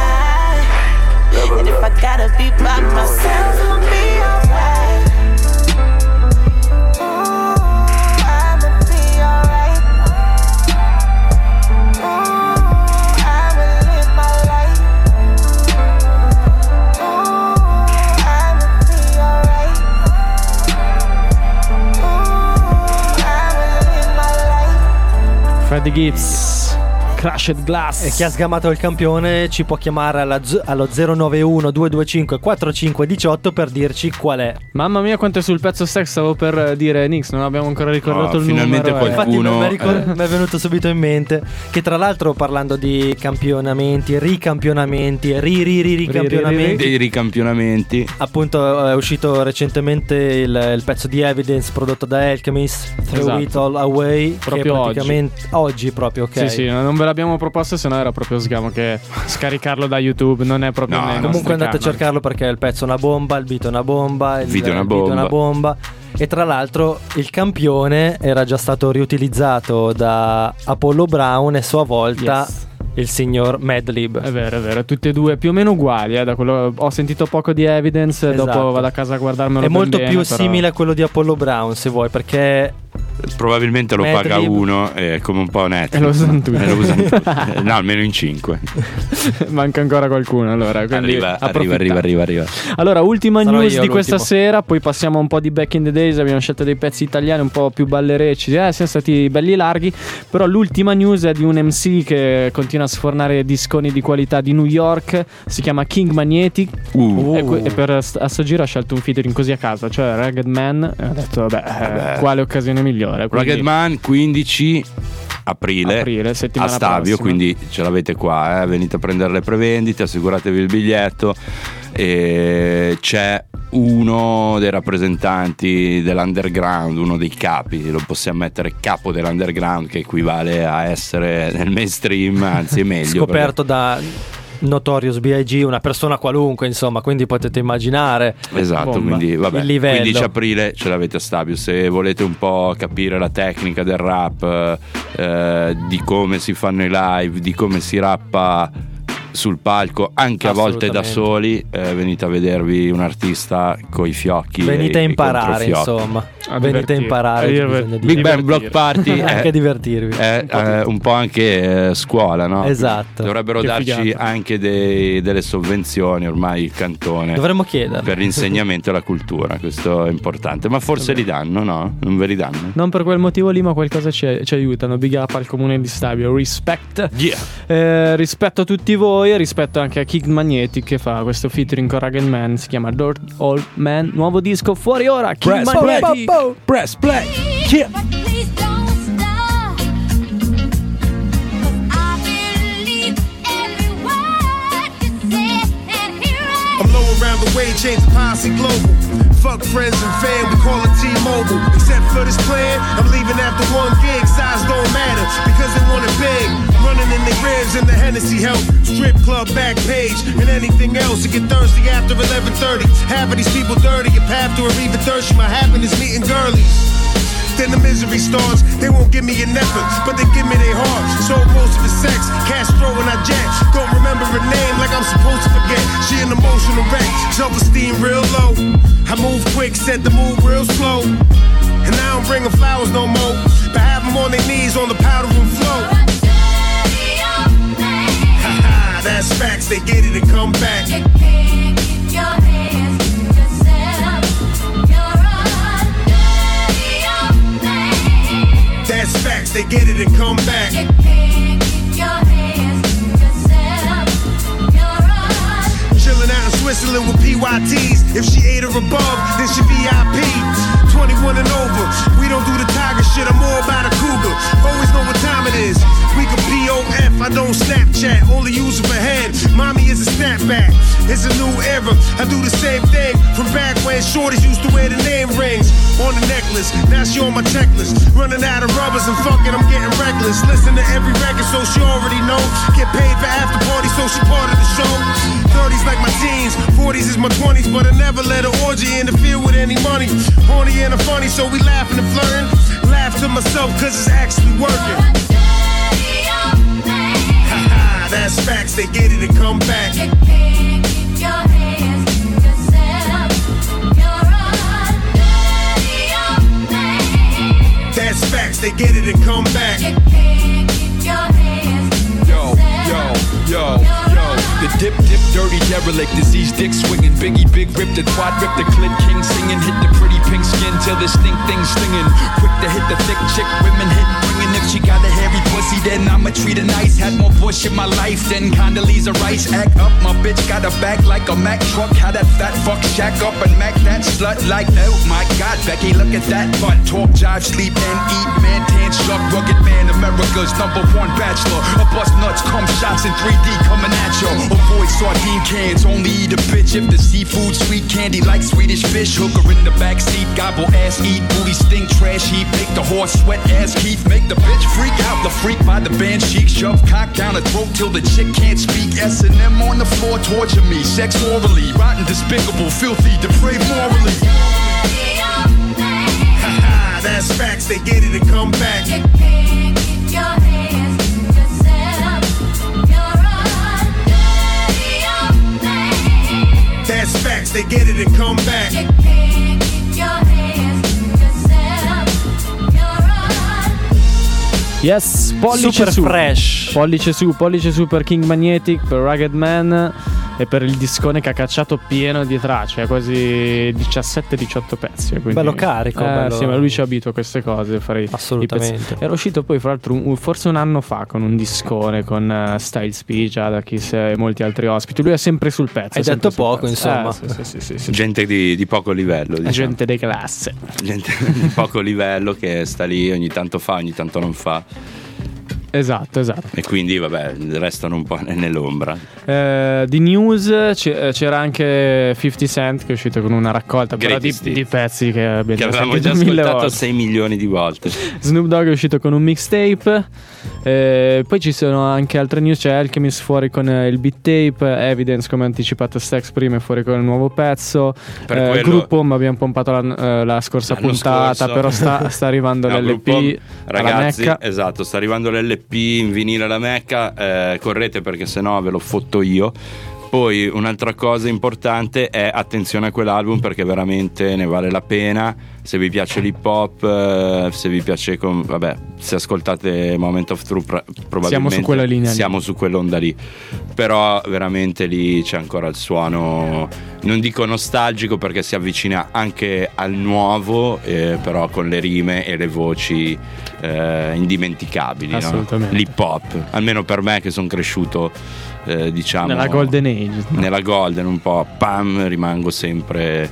I. And if I gotta be by myself, I'll be alright. Freddie Gibbs, Crushed Glass. E chi ha sgamato il campione ci può chiamare allo 091 225 4518 per dirci qual è. Mamma mia quanto è sul pezzo sex, stavo per dire Nix, non abbiamo ancora ricordato il finalmente numero. qualcuno. Infatti mi è venuto subito in mente che tra l'altro parlando di campionamenti, ricampionamenti e ricampionamenti, dei ricampionamenti, appunto è uscito recentemente il pezzo di Evidence prodotto da Alchemist, Throw It All Away, proprio che praticamente oggi proprio, ok. Sì, non ve l'abbiamo proposto, se no era proprio sgamo che scaricarlo da YouTube non è proprio comunque andate a cercarlo perché il pezzo è una bomba, il beat è una bomba, il video è una bomba. E tra l'altro il campione era già stato riutilizzato da Apollo Brown e a sua volta il signor Madlib. È vero, tutti e due più o meno uguali, da quello ho sentito poco di Evidence, esatto. Dopo vado a casa a guardarmelo. È molto bene, più però simile a quello di Apollo Brown, se vuoi, perché probabilmente lo paga uno, è come un po' Netflix. E lo usano tutti. No, almeno in 5. Manca ancora qualcuno, allora. Arriva. Allora, ultima news di questa sera, poi passiamo un po' di Back in the Days. Abbiamo scelto dei pezzi italiani un po' più ballerecci, siamo stati belli larghi. Però l'ultima news è di un MC che continua a sfornare disconi di qualità di New York. Si chiama King Magnetic e per a sto giro ha scelto un featuring così a casa, cioè Ragged Man. E ho detto vabbè, quale occasione migliore. Ragged Man 15 aprile a Stabio, prossima. quindi ce l'avete qua, venite a prendere le prevendite, assicuratevi il biglietto. E c'è uno dei rappresentanti dell'underground, uno dei capi, lo possiamo mettere capo dell'underground, che equivale a essere nel mainstream, anzi è meglio scoperto da Notorious B.I.G., una persona qualunque, insomma, quindi potete immaginare. Esatto, quindi vabbè, il livello. 15 aprile ce l'avete a Stabio. Se volete un po' capire la tecnica del rap, di come si fanno i live, di come si rappa sul palco, anche a volte da soli, venite a vedervi un artista coi fiocchi, venite a imparare, insomma, venite a imparare. Big Bang Block Party anche divertirvi, è un po' anche scuola, no? Esatto. Dovrebbero darci anche delle sovvenzioni, ormai il cantone dovremmo chiedere per l'insegnamento e la cultura, questo è importante, ma forse li danno, no? Non ve li danno? Non per quel motivo lì, ma qualcosa ci aiutano. Big up al comune di Stabio, respect. Rispetto a tutti voi, rispetto anche a King Magnetic che fa questo featuring con Ragged Man, si chiama Dirt Old Man, nuovo disco fuori ora. King Magnetic. Press play. Yeah. I'm low around the way, change the policy global. Fuck friends and fam, we call it T-Mobile. Except for this plan, I'm leaving after one gig. Size don't matter, because they want it big. Running in the ribs and the Hennessy help. Strip club back page and anything else. To get thirsty after 11:30. Half of these people dirty. If half to or even thirsty, my happiness meeting girlies. Then the misery starts. They won't give me an effort, but they give me their heart. So most of the sex, Castro and I jet. Don't remember her name like I'm supposed to forget. She an emotional wreck, self-esteem real low. I move quick, set the move real slow. And I don't bring her flowers no more, but have them on their knees on the powder room floor. Haha, that's facts, they get it and come back. You can't keep your hands to yourself. That's facts, they get it and come back. You can't keep your hands to yourself. You're on. Chillin' out in Switzerland with PYTs. If she 8 or above, then she VIP. 21 and over, we don't do the tiger shit, I'm more about a cougar. Always know what time it is. We can POF, I don't Snapchat, only use it for head. Mommy is a snapback, it's a new era. I do the same thing from back when shorties used to wear the name rings on the necklace. Now she on my checklist, running out of rubbers and fucking I'm getting reckless. Listen to every record so she already know. Get paid for after party so she part of the show. 30s like my teens, 40s is my 20s, but I never let an orgy interfere with any money. Horny and funny, so we laughing and flirting. Laugh to myself cause it's actually working. Haha, that's facts, they get it and come back. You can't keep your hands to yourself. You're on. That's facts, they get it and come back. You can't keep your hands to yourself. Yo. The dip, dirty derelict, disease, dick swinging. Biggie, big rip, the twat rip, the clit king singing. Hit the pretty pink skin till the stink thing stinging. Quick to hit the thick chick, women hit bringing. If she got a hairy pussy, then I'ma treat her nice. Had more bush in my life than Condoleezza Rice. Act up, my bitch got a back like a Mack truck. How that fat fuck shack up and Mac that slut like, oh my God, Becky, look at that butt. Talk, jive, sleep, and eat, man, tan, shark, rugged man, America's #1 bachelor. A bust nuts, cum shots in 3D coming at you. Avoid sardine cans, only eat a bitch if the seafood sweet candy like Swedish fish. Hook her in the backseat, gobble ass, eat booty, stink, trash heap. Make the horse sweat ass Keith, make the bitch freak out. The freak by the band chic, shove cock down her throat till the chick can't speak. S&M on the floor, torture me, sex orally, rotten, despicable, filthy, depraved morally. Haha, that's facts, they get it and come back. You can't keep your hands to yourself. That's facts, they get it and come back. You can't keep your hands to yourself. You're on. Yes, pollice super su. Fresh. Pollice su per King Magnetic, per Rugged Man e per il discone che ha cacciato pieno di tracce, quasi 17-18 pezzi. Quindi, bello carico. Bello. Sì, ma lui ci abitua a queste cose. Assolutamente. Era uscito poi, fra l'altro, forse un anno fa con un discone con Styles P, Jadakiss e molti altri ospiti. Lui è sempre sul pezzo. Hai detto poco, insomma. Sì. Gente di poco livello, diciamo. Gente di classe. Gente di poco livello che sta lì, ogni tanto fa, ogni tanto non fa. Esatto. E quindi vabbè, restano un po' nell'ombra. Di news c'era anche 50 Cent che è uscito con una raccolta però di pezzi che avevamo già ascoltato 6 milioni di volte. Snoop Dogg è uscito con un mixtape. Poi ci sono anche altre news. C'è Alchemist fuori con il beat tape. Evidence, come anticipato Stax prima, è fuori con il nuovo pezzo. Il gruppo abbiamo pompato la scorsa puntata scorso. Però sta arrivando l'LP ragazzi, alla Mecca. Esatto, sta arrivando l'LP in vinile alla Mecca. Correte perché sennò ve lo fotto io. Poi un'altra cosa importante è attenzione a quell'album, perché veramente ne vale la pena. Se vi piace l'hip hop, se vi piace se ascoltate Moment of Truth, probabilmente siamo su quella linea, siamo su quell'onda lì. Però veramente lì c'è ancora il suono, non dico nostalgico perché si avvicina anche al nuovo, però con le rime e le voci indimenticabili, assolutamente, no? L'hip hop, almeno per me che sono cresciuto diciamo nella golden age, nella golden un po', rimango sempre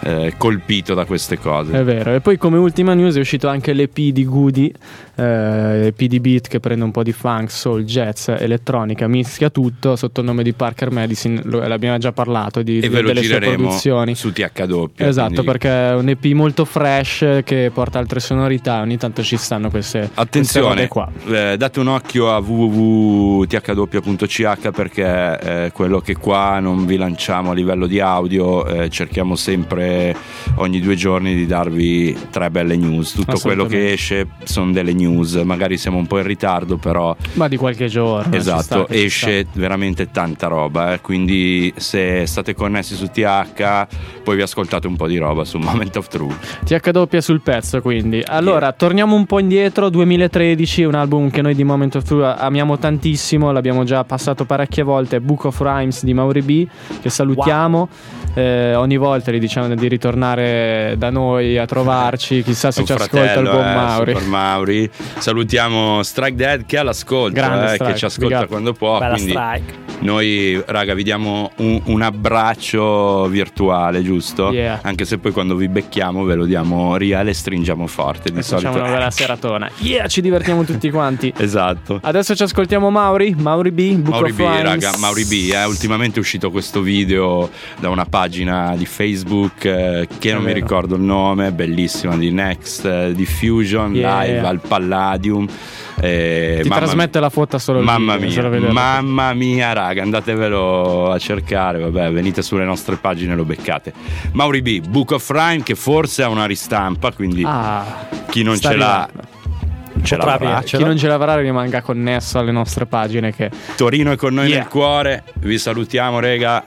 colpito da queste cose. È vero. E poi come ultima news è uscito anche l'EP di Goody, EP di beat che prende un po' di funk, soul, jazz, elettronica, mischia tutto sotto il nome di Parker Medicine. L'abbiamo già parlato e ve lo delle sue gireremo produzioni su THW. Esatto, quindi... perché è un EP molto fresh che porta altre sonorità. Ogni tanto ci stanno queste attenzione qua. Date un occhio a www.thw.ch perché quello che qua non vi lanciamo a livello di audio, cerchiamo sempre ogni 2 giorni di darvi 3 belle news. Tutto quello che esce sono delle news, magari siamo un po' in ritardo, però ma di qualche giorno. Esatto, esce veramente tanta roba, quindi se state connessi su TH poi vi ascoltate un po' di roba su Moment of Truth. THW sul pezzo, quindi. Allora, torniamo un po' indietro. 2013, un album che noi di Moment of Truth amiamo tantissimo, l'abbiamo già passato parecchie volte, Book of Rhymes di Mauri B, che salutiamo. Ogni volta gli diciamo di ritornare da noi a trovarci, chissà se ci ascolta il buon Mauri. Super Mauri. Salutiamo Strike Dead che è all'ascolto, che ci ascolta quando può. Bella quindi Strike. Noi, raga, vi diamo un abbraccio virtuale, giusto? Yeah. Anche se poi quando vi becchiamo ve lo diamo reale e stringiamo forte. Di solito facciamo una bella seratona. Ci divertiamo tutti quanti. Esatto. Adesso ci ascoltiamo Mauri B, Book Mauri of B, Rhymes. raga, Mauri B, ultimamente è uscito questo video da una pagina di Facebook che non mi ricordo il nome, bellissima, di Next Diffusion live al Palladium. Ti trasmette la foto solo il video, mamma mia, raga, andatevelo a cercare, vabbè, venite sulle nostre pagine e lo beccate. Mauri B, Book of Rhyme, che forse ha una ristampa, quindi chi non ce l'ha ce l'avrà. Chi non ce l'avrà rimanga connesso alle nostre pagine, che Torino è con noi nel cuore. Vi salutiamo, rega.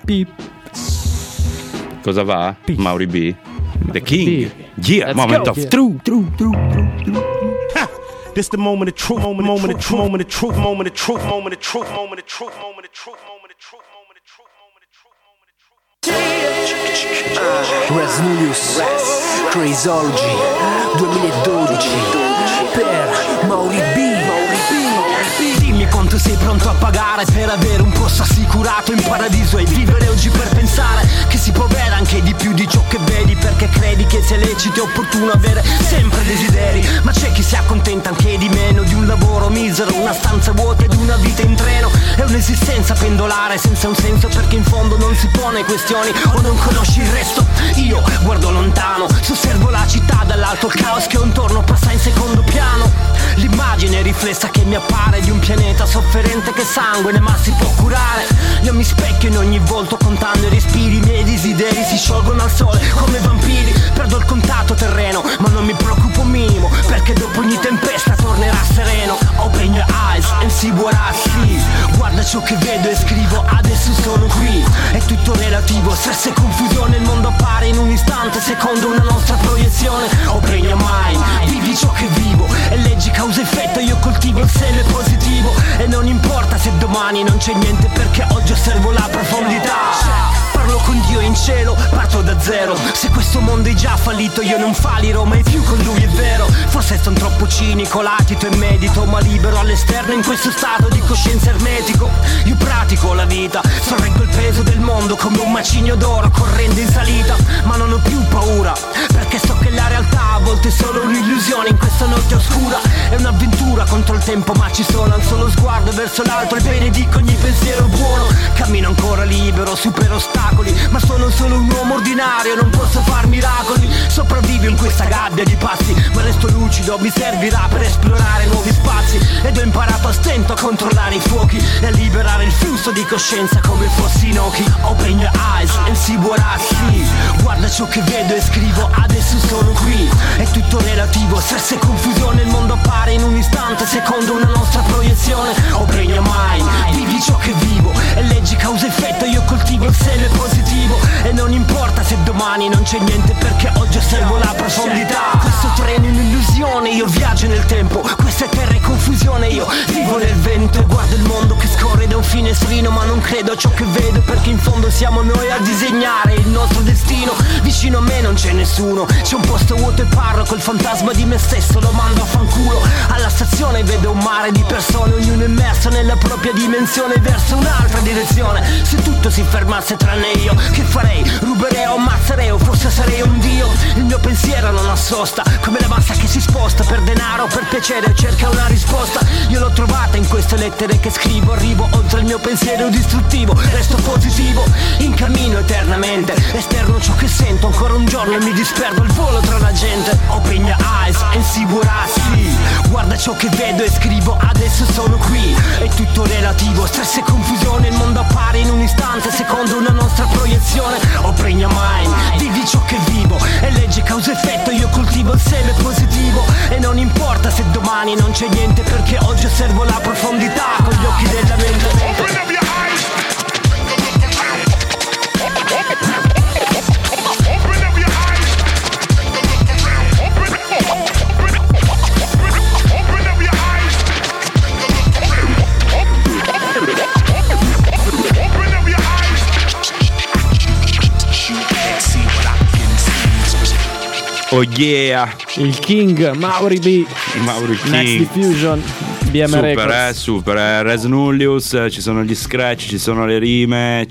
Cosa va? Mauri B, The King. Yeah, Moment of Truth. This the moment of truth, moment of truth, moment of truth, moment of truth, moment of truth, moment of truth, moment of truth, moment of truth, moment of truth, moment of truth. Rasmulius, Crazyology 2012 per Mauri B. Dimmi quanto sei pronto a pagare per avere un posto assicurato in paradiso e vivere oggi per pensare che si può avere anche di più di ciò che vedi, perché credi che sia lecito e opportuno avere sempre desideri, ma c'è chi si accontenta anche di meno, di un lavoro misero, una stanza vuota ed una vita in treno. È un'esistenza pendolare senza un senso, perché in fondo non si pone questioni o non conosci il resto. Io guardo lontano, osservo la città dall'alto, il caos che ho intorno passa in secondo piano. L'immagine riflessa che mi appare di un pianeta sofferente che sangue ma si può curare. Io mi specchio in ogni volto contando i respiri, i miei desideri si sciolgono al sole come vampiri. Perdo il contatto terreno ma non mi preoccupo un minimo, perché dopo ogni tempesta tornerà sereno. Open your eyes and see what I see. Guarda ciò che vedo e scrivo, adesso sono qui. È tutto relativo, stress e confusione, il mondo appare in un istante secondo una nostra proiezione. Open your mind, vivi ciò che vivo e leggi causa effetto. Io coltivo il seme positivo e non importa se domani non c'è niente, perché oggi osservo la profondità. Parlo con Dio in cielo, parto da zero. Se questo mondo è già fallito io non fallirò mai più con lui, è vero. Forse sono troppo cinico, latito e medito, ma libero all'esterno in questo stato di coscienza ermetico. Io pratico la vita, sorreggo il peso del mondo come un macigno d'oro correndo in salita. Ma non ho più paura, perché so che la realtà a volte è solo un'illusione in questa notte oscura. È un'avventura contro il tempo, ma ci sono un solo sguardo verso l'alto e benedico ogni pensiero buono. Cammino ancora libero, supero ostacoli, ma sono solo un uomo ordinario, non posso far miracoli. Sopravvivo in questa gabbia di passi, ma resto lucido, mi servirà per esplorare nuovi spazi. Ed ho imparato a stento a controllare i fuochi e a liberare il flusso di coscienza come fossi Inoki. Open your eyes and see what I see. Guarda ciò che vedo e scrivo, adesso sono qui. È tutto relativo, stress e confusione, il mondo appare in un istante secondo una nostra proiezione. Open your mind, vivi ciò che vivo e leggi causa effetto. Io coltivo il seme positivo e non importa se domani non c'è niente, perché oggi osservo la profondità. Questo treno è un'illusione, io viaggio nel tempo. Questa è terra e confusione, io vivo nel vento e guardo il mondo che scorre da un finestrino, ma non credo a ciò che vedo, perché in fondo siamo noi a disegnare il nostro destino. Vicino a me non c'è nessuno, c'è un posto vuoto e parlo col fantasma di me stesso, lo mando a fanculo. Alla stazione vedo un mare di persone, ognuno immerso nella propria dimensione verso un'altra direzione. Se tutto si fermasse tranne io, che farei? Ruberei o ammazzerei deo, forse sarei un dio. Il mio pensiero non ha sosta, come la massa che si sposta per denaro, per piacere, cerca una risposta. Io l'ho trovata in queste lettere che scrivo. Arrivo oltre il mio pensiero distruttivo, resto positivo, in cammino eternamente. Esterno ciò che sento, ancora un giorno e mi disperdo al volo tra la gente. Open your eyes and see what I see. Guarda ciò che vedo e scrivo, adesso sono qui. È tutto relativo, stress e confusione. Il mondo appare in un istante secondo una nostra proiezione. Open your mind, vivi ciò che vivo e legge causa effetto. Io coltivo il seme positivo e non importa se domani non c'è niente, perché oggi osservo la profondità con gli occhi della mente. Oh yeah, il King Mauri B, King. Next Diffusion, BM super, Records. Super, Res Nullius, ci sono gli scratch, ci sono le rime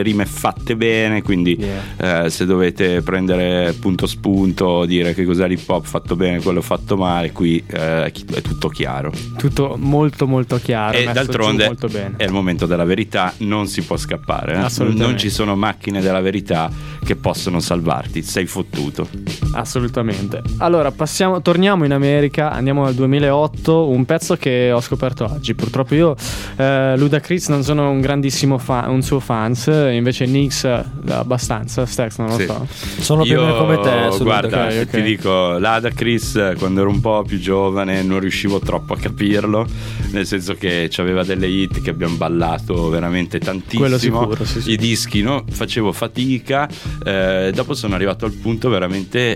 fatte bene, quindi se dovete prendere punto spunto, dire che cos'è l'hip hop fatto bene, quello fatto male, qui è tutto chiaro. Tutto molto molto chiaro. E d'altronde molto bene. È il momento della verità, non si può scappare. Assolutamente. Non ci sono macchine della verità che possono salvarti, sei fottuto. Assolutamente. Allora torniamo in America, andiamo al 2008, un pezzo che ho scoperto oggi. Purtroppo io Ludacris non sono un grandissimo un suo fans, invece Nix abbastanza. Stax non lo so. Sono più o meno come te. Guarda, okay. ti dico, Ludacris quando ero un po' più giovane non riuscivo troppo a capirlo, nel senso che c'aveva delle hit che abbiamo ballato veramente tantissimo. Quello sicuro, sì. I dischi, no? Facevo fatica. Dopo sono arrivato al punto veramente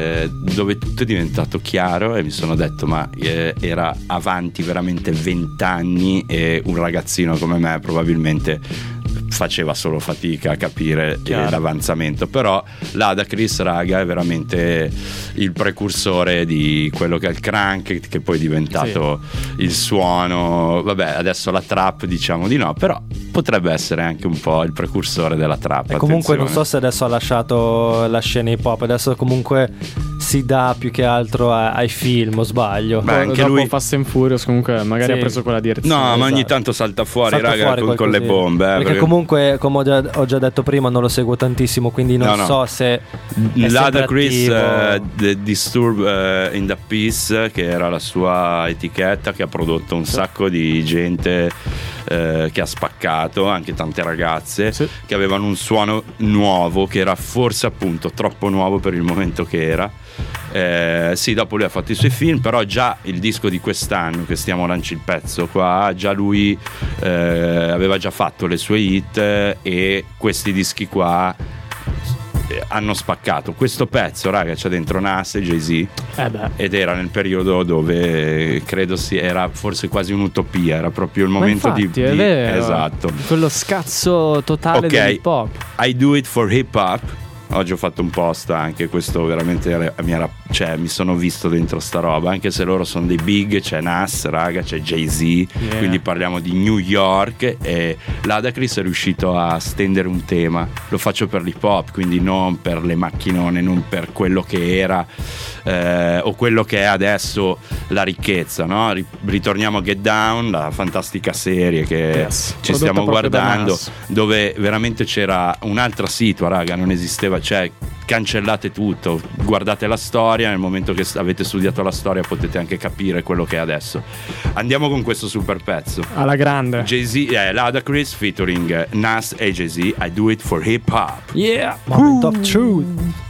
dove tutto è diventato chiaro e mi sono detto ma era avanti veramente 20 anni e un ragazzino come me probabilmente faceva solo fatica a capire l'avanzamento. Però Ludacris, raga, è veramente il precursore di quello che è il crunk, che poi è diventato il suono. Vabbè, adesso la trap diciamo di no, però potrebbe essere anche un po' il precursore della trap. E comunque non so se adesso ha lasciato la scena hip hop, adesso comunque si dà più che altro ai film, o sbaglio? Beh, anche dopo lui Fast and Furious comunque magari ha preso quella direzione. No, ma ogni tanto salta fuori, raga, con le bombe. Perché comunque, come ho già detto prima, non lo seguo tantissimo, quindi non so se Ludacris Disturb in the Peace, che era la sua etichetta, che ha prodotto un sacco di gente che ha spaccato, anche tante ragazze che avevano un suono nuovo, che era forse appunto troppo nuovo per il momento che era. Dopo lui ha fatto i suoi film, però già il disco di quest'anno che stiamo lanciando il pezzo qua, già lui aveva già fatto le sue hit e questi dischi qua hanno spaccato. Questo pezzo, raga, c'è dentro Nas e Jay-Z ed era nel periodo dove credo era forse quasi un'utopia, era proprio il momento di è vero. Esatto, quello scazzo totale dell'hip hop. I do it for hip hop. Oggi ho fatto un post anche, questo veramente mi sono visto dentro sta roba, anche se loro sono dei big, c'è Nas, raga, c'è Jay-Z, quindi parliamo di New York, e Ludacris è riuscito a stendere un tema. Lo faccio per l'hip hop, quindi non per le macchinone, non per quello che era o quello che è adesso la ricchezza, no? Ritorniamo a Get Down, la fantastica serie che ci stiamo guardando, dove veramente c'era un'altra situa, raga, non esisteva, cioè cancellate tutto, guardate la storia, nel momento che avete studiato la storia potete anche capire quello che è adesso. Andiamo con questo super pezzo alla grande. Jay-Z, Ludacris featuring Nas e Jay-Z, I do it for hip hop. Moment of truth.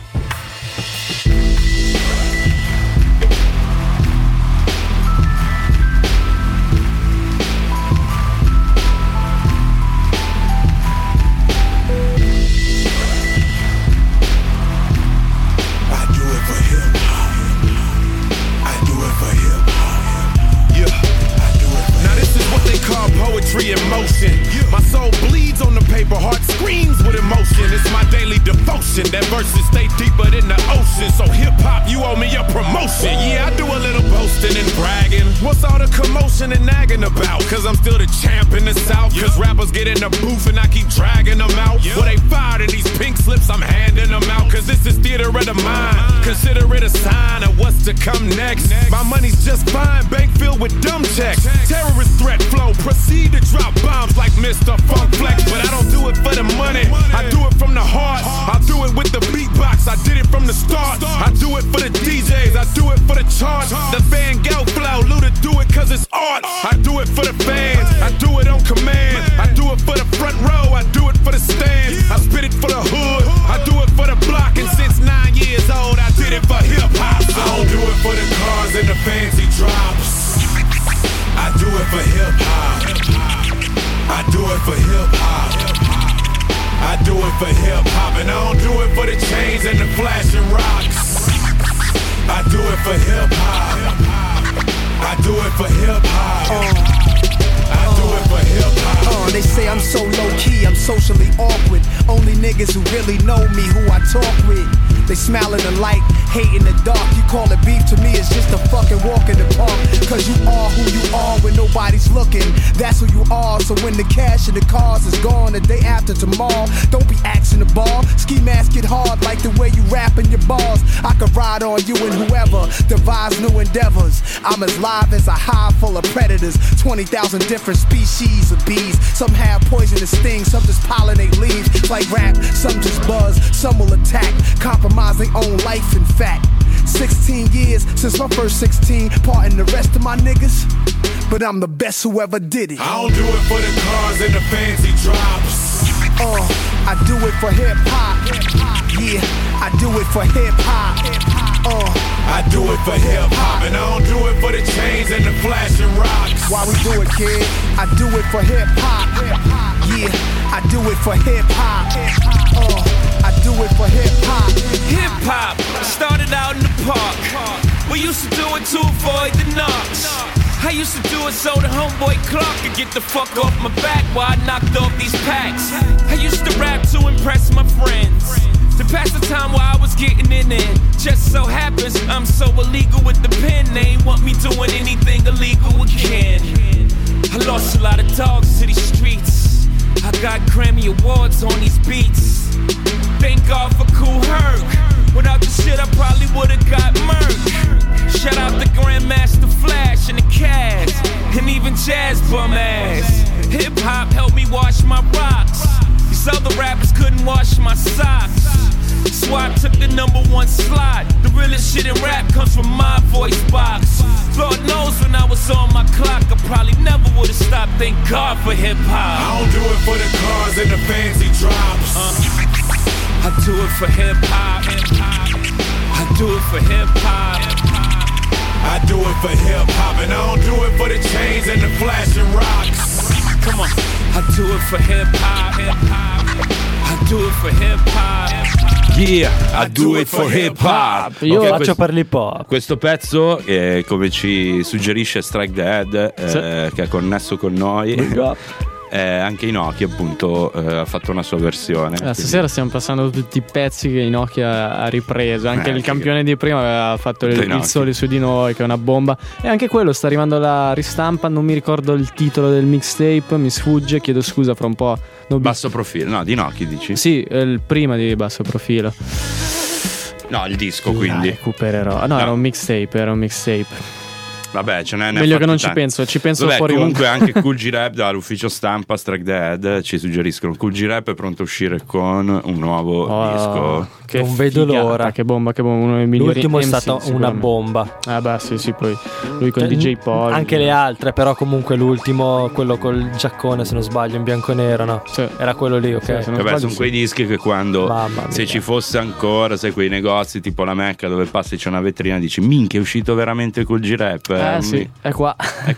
In motion, my soul bleeds on the paper, heart screams with emotion. It's my daily devotion. That verses stay deeper than the ocean. So hip hop, you owe me a promotion. Yeah, I do a little boasting and bragging. What's all the commotion and nagging about? Cause I'm still the champ in the South. Cause rappers get in the booth and I keep dragging them out. Well, they fired and these pink slips props, I'm handing them out, cause this is theater of the mind. Consider it a sign of what's to come next. My money's just fine, bank filled with dumb checks. Terrorist threat flow, proceed to drop bombs like Mr. Funk Flex. But I don't do it for the money, I do it from the heart. I do it with the beatbox, I did it from the start. I do it for the DJs, I do it for the charts. The Van Gogh flow, Luda do it cause it's art. I do it for the fans, I do it on command. I do it for the front row, I do it for the stand. I spit it for the hood, I do it for the block. And since 9 years old, I did it for hip-hop. I don't do it for the cars and the fancy drops. I do it for hip-hop. I do it for hip-hop. I do it for hip-hop. And I don't do it for the chains and the flashing rocks. I do it for hip-hop. I do it for hip-hop. I do it for hip-hop. They say I'm so low-key, I'm socially awkward. Only niggas who really know me, who I talk with. They smile in the light, hate in the dark. You call it beef, to me it's just a fucking walk in the park. Cause you are who you are when nobody's looking. That's who you are, so when the cash and the cars is gone the day after tomorrow, don't be axing the ball. Ski mask get hard like the way you rapping your bars. I could ride on you and whoever devise new endeavors. I'm as live as a hive full of predators. 20,000 different species of bees. Some have poisonous stings, some just pollinate leaves. Like rap, some just buzz, some will attack. Compromise their own life, in fact. 16 years since my first 16, parting the rest of my niggas, but I'm the best who ever did it. I don't do it for the cars and the fancy drops. I do it for hip-hop. Yeah, I do it for hip-hop. I do it for hip-hop. And I don't do it for the chains and the flashing rocks. Why we do it, kid? I do it for hip-hop. Yeah, I do it for hip-hop. I do it for hip-hop. Hip-hop started out in the park. We used to do it to avoid the knocks. I used to do it so the homeboy Clark could get the fuck off my back while I knocked off these packs. I used to rap to impress my friends, to pass the time while I was getting in it. Just so happens I'm so illegal with the pen, they ain't want me doing anything illegal again. I lost a lot of dogs to these streets. I got Grammy Awards on these beats. Thank God for Kool Herc. Without the shit I probably would've got murked. Shout out to Grandmaster Flash and the Cast, and even Jazz bum ass. Hip hop helped me wash my rocks. These other rappers couldn't wash my socks. So I took the #1 slot. The realest shit in rap comes from my voice box. Lord knows when I was on my clock, I probably never would've stopped. Thank God for hip hop. I don't do it for the cars and the fancy drops. I do it for hip hop. I do it for hip hop. I do it for hip hop. And I don't do it for the chains and the flashing rocks. Come on. I do it for hip hop. I do it for hip hop. Yeah, I do it for hip hop. Io lo faccio per l'hip hop. Questo pezzo, come ci suggerisce Strike Dead, che è connesso con noi, anche Inoki appunto ha fatto una sua versione. Stasera stiamo passando tutti i pezzi che Inoki ha ripreso. Anche il campione di prima aveva fatto il sole su di noi, che è una bomba. E anche quello sta arrivando alla ristampa. Non mi ricordo il titolo del mixtape, mi sfugge, chiedo scusa fra un po'. Basso profilo, no, di Inoki dici? Sì, il prima di Basso Profilo. No, il disco quindi. Recupererò. No, era un mixtape. Vabbè, ce n'è meglio che non ci penso fuori. Comunque anche Kool G Rap dall'ufficio stampa Strike Dead ci suggeriscono Kool G Rap è pronto a uscire con un nuovo disco. Che non vedo l'ora. Che bomba, uno dei migliori. L'ultimo è stato una bomba. Sì, poi lui con DJ Paul. Anche le altre, però comunque l'ultimo, quello col giaccone, se non sbaglio, in bianco e nero, no? Sì. Era quello lì, ok. Sì, vabbè, sono quei dischi che quando se ci fosse ancora, sai, quei negozi tipo la Mecca dove passi c'è una vetrina, dici minchia, è uscito veramente Kool G Rap. Sì, è qua.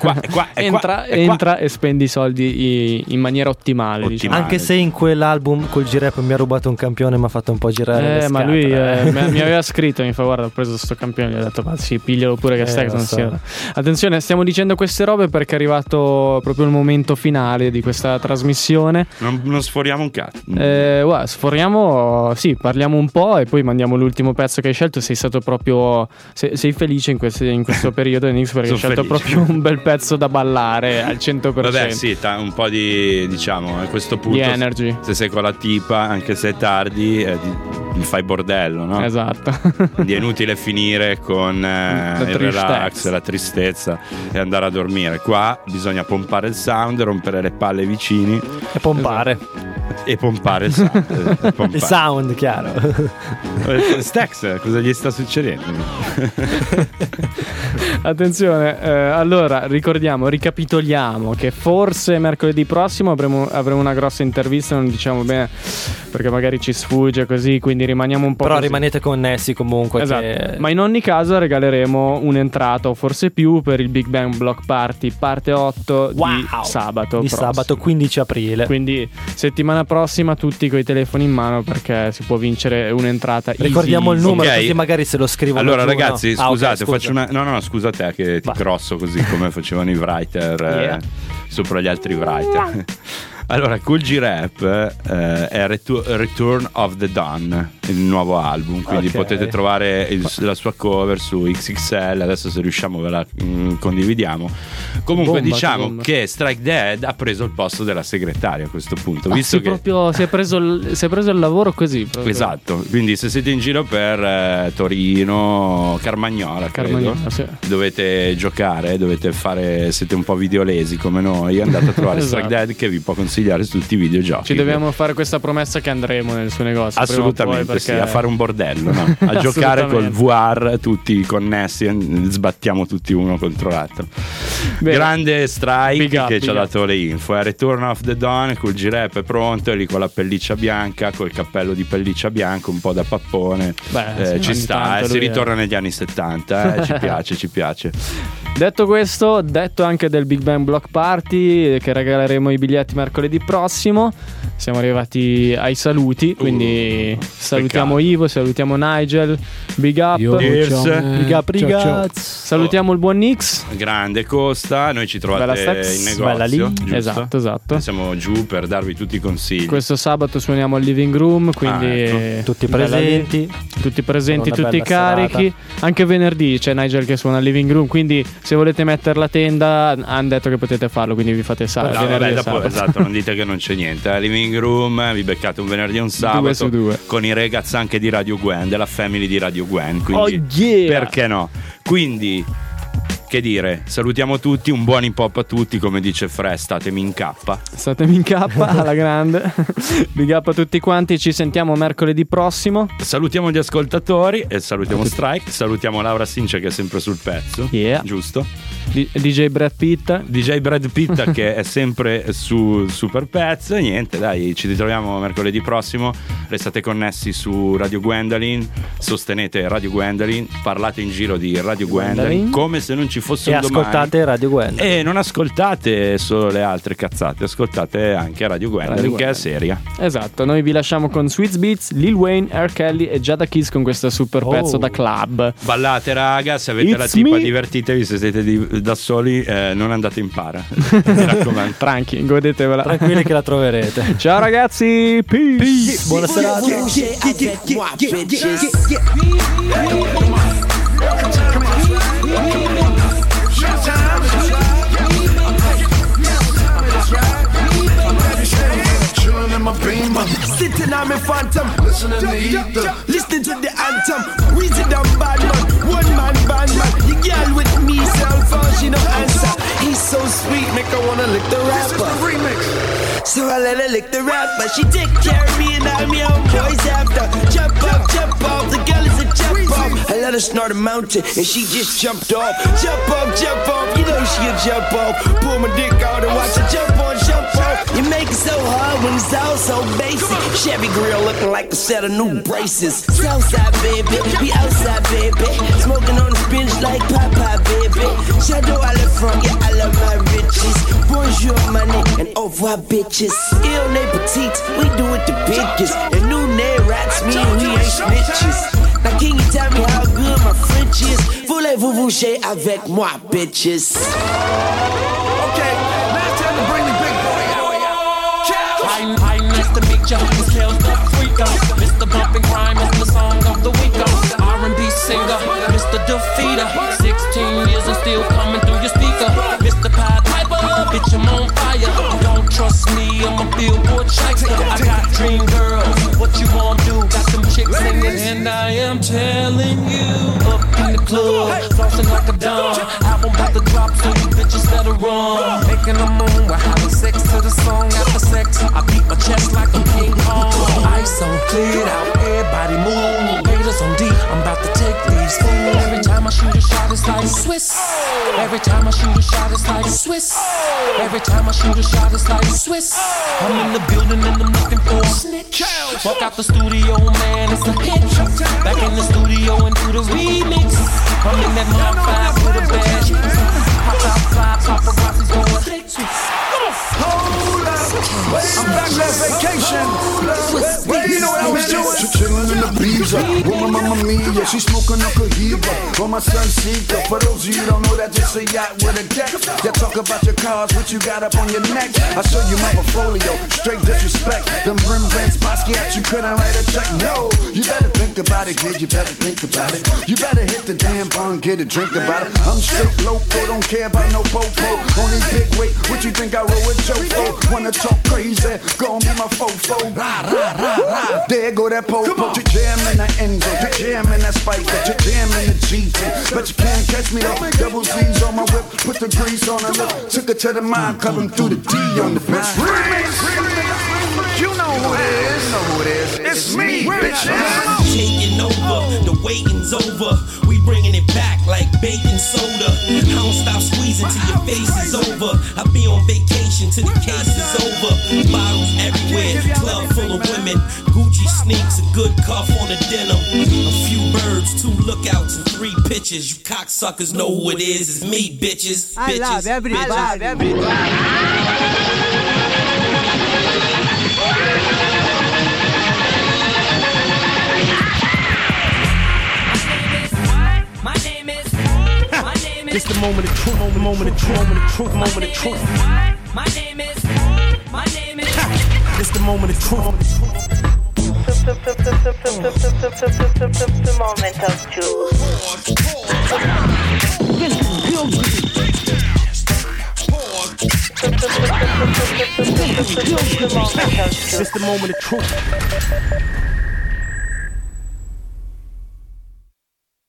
Entra e spendi i soldi in maniera ottimale. Diciamo. Anche se in quell'album Kool G Rap mi ha rubato un campione, mi ha fatto un po' girare. Ma lui mi aveva scritto, mi fa guarda, ho preso sto campione, gli ho detto sì, piglialo pure che stai. Attenzione, stiamo dicendo queste robe perché è arrivato proprio il momento finale di questa trasmissione. Non sforiamo un cazzo. Sforiamo, sì, parliamo un po' e poi mandiamo l'ultimo pezzo che hai scelto. Sei stato proprio sei felice in questo periodo, Kings perché hai scelto proprio un bel pezzo da ballare al 100%. Vabbè, sì, un po' di, diciamo, a questo punto di energy. Se sei con la tipa, anche se è tardi, fai bordello, no? Esatto. Quindi è inutile finire con il relax, la tristezza e andare a dormire. Qua bisogna pompare il sound, rompere le palle ai vicini e pompare. E pompare il sound. Il sound, chiaro. Stax, cosa gli sta succedendo? Attenzione, allora ricapitoliamo che forse mercoledì prossimo avremo una grossa intervista, non diciamo bene perché magari ci sfugge così, quindi rimaniamo un po' però così. Rimanete connessi comunque, esatto. Che... Ma in ogni caso regaleremo un'entrata o forse più per il Big Bang Block Party parte 8 di sabato prossimo. Sabato 15 aprile. Quindi settimana prossima tutti coi telefoni in mano perché si può vincere un'entrata. Ricordiamo il numero, okay. Così magari se lo scrivono. Allora giù, ragazzi, no? scusate, Okay, faccio una... No, scusa te che ti crosso così come facevano i writer sopra gli altri writer. Allora, Kool G Rap è Return of the Dawn, il nuovo album, quindi potete trovare la sua cover su XXL, adesso se riusciamo ve la condividiamo. Comunque diciamo che Strike Dead ha preso il posto della segretaria a questo punto, visto che proprio si è preso il lavoro così proprio. Esatto, quindi se siete in giro per Torino, Carmagnola, sì. dovete giocare, siete un po' videolesi come noi, andate a trovare Strike Dead che vi può consigliare su tutti i videogiochi. Ci dobbiamo fare questa promessa che andremo nel suo negozio. Assolutamente perché... sì, a fare un bordello, no? A giocare col VR tutti connessi, sbattiamo tutti uno contro l'altro. Bene. Grande Strike che ci ha dato le info. Return of the Dawn, Kool G Rap è pronto, è lì con la pelliccia bianca, col cappello di pelliccia bianca, un po' da pappone. Ci sta, si ritorna negli anni 70, ci piace. Detto questo, detto anche del Big Bang Block Party che regaleremo i biglietti mercoledì prossimo, siamo arrivati ai saluti, quindi salutiamo Ivo, salutiamo Nigel, big up, big up ragazzi. Salutiamo il buon Nix, grande Costa, noi ci trovate in negozio, lì. Esatto. Noi siamo giù per darvi tutti i consigli. Questo sabato suoniamo al living room, quindi tutti presenti, tutti carichi. Serata. Anche venerdì c'è Nigel che suona al living room, quindi se volete mettere la tenda hanno detto che potete farlo, quindi vi fate sabato. Esatto, non dite che non c'è niente. Living room, vi beccate un venerdì e un sabato 2 su 2 con i ragazzi anche di Radio Gwen, della family di Radio Gwen, quindi perché no? Quindi che dire, salutiamo tutti, un buon hip hop a tutti, come dice Fre, statemi in K alla grande. Big up a tutti quanti, ci sentiamo mercoledì prossimo. Salutiamo gli ascoltatori e salutiamo Strike, salutiamo Laura Since che è sempre sul pezzo, giusto? DJ Brad Pitt che è sempre su Super Pezzo. E niente, dai, ci ritroviamo mercoledì prossimo. Restate connessi su Radio Gwendolyn, sostenete Radio Gwendolyn, parlate in giro di Radio Gwendolyn come se non ci fosse un domani. E ascoltate Radio Gwendolyn. E non ascoltate solo le altre cazzate, ascoltate anche Radio Gwendolyn che è seria. Esatto, noi vi lasciamo con Sweet Beats, Lil Wayne, R. Kelly e Jada Kiss con questo super pezzo da club. Ballate raga, se avete la tipa divertitevi, se siete da soli non andate in para. Mi raccomando. Tranqui, godetevela. Tranquilli che la troverete. Ciao ragazzi, peace. Buona serata. Sitting on my phantom, listening to the anthem. Weezy down bad man, one man band man. The girl with me, cell phone, she no answer. He's so sweet, make her wanna lick the rapper. So I let her lick the rapper. She take care of me and I'm your own boys after. Jump off, the girl is a jump off. I let her snort a mountain and she just jumped off. Jump off, you know she'll jump off. Pull my dick out and watch her jump on, jump off. You make it so hard when it's all so basic. Chevy grill looking like a set of new braces. Southside baby, we outside baby. Smoking on the bench like Papa baby. Shadow I live from, yeah I love my riches. Bonjour money and au revoir bitches. Ill ne petites, we do it the biggest. And new name rats mean we ain't snitches. Now can you tell me how good my French is? Voulez-vous bouger avec moi bitches? Okay, now it's time to bring the big boy out. Hi, nice to meet ya. This kills the freako. Mr. Bumpin' Crime is the song of the week. R&B singer, Mr. Defeater. 16 years and still coming through your speaker. Mr. Pied Piper, bitch, I'm on fire. Don't trust me, I'm a Billboard checker. I got dream girls, what you wanna do? Got some chicks singing, and I am telling you, up in the club, flossing like a dumb. Album about to drop, so you bitches better run. Making a moon, we're having sex to the song after sex. I beat my chest like a King Kong. Ice on cleared out, everybody move. Gators on deep, I'm about to take these fools. Every time I shoot a shot, it's like Swiss. Every time I shoot a shot, it's like Swiss. Every time I shoot a shot, it's like Swiss. I'm in the building and I'm looking for a snitch. Walk out the studio, man, it's a hit. Back in the studio and do the remix. I'm in that Mark 5 with a badge. Pop out fly, paparazzi's going click. Hold up, I'm back last vacation. Well, you know what I was doing? Chillin' in the bees up with my mama mia. She smoking a cohiba on my son Seeker. For those of you who don't know, that's just a yacht with a deck. You talk about your cars, what you got up on your neck. I show you my portfolio, straight disrespect. Them Rembrandt Basquiat, you couldn't write a check. No, you better think about it, kid. You better think about it. You better hit the damn bar, get a drink about it. I'm straight loco, don't care about no popo. Only big weight, what you think I roll with Joe for? Wanna talk crazy, gon' be my fofo. Rah, rah, rah, rah. There go that popo. You jam in the Enzo, you jam in that Spiker, you jam in the GT. But you can't catch me though. Double Z's on my whip, put the grease on her lip. Took her to the mind, cut him through the D on the bitch. You know who it is. You know who it is. It's me, bitches. Taking over, the waiting's over. We bringing it back like baking soda. I don't stop squeezing till your face is over. I be on vacation till the case is over. Bottles everywhere, club full of women. Gucci sneaks, a good cuff on the denim. A few birds, 2 lookouts, and 3 pitches. You cocksuckers know who it is. It's me, bitches. I love everybody. I love everybody. It's the moment of truth, moment of truth, moment of truth, moment of truth. My name is. It's the moment of truth. The moment of truth. It's the moment of truth.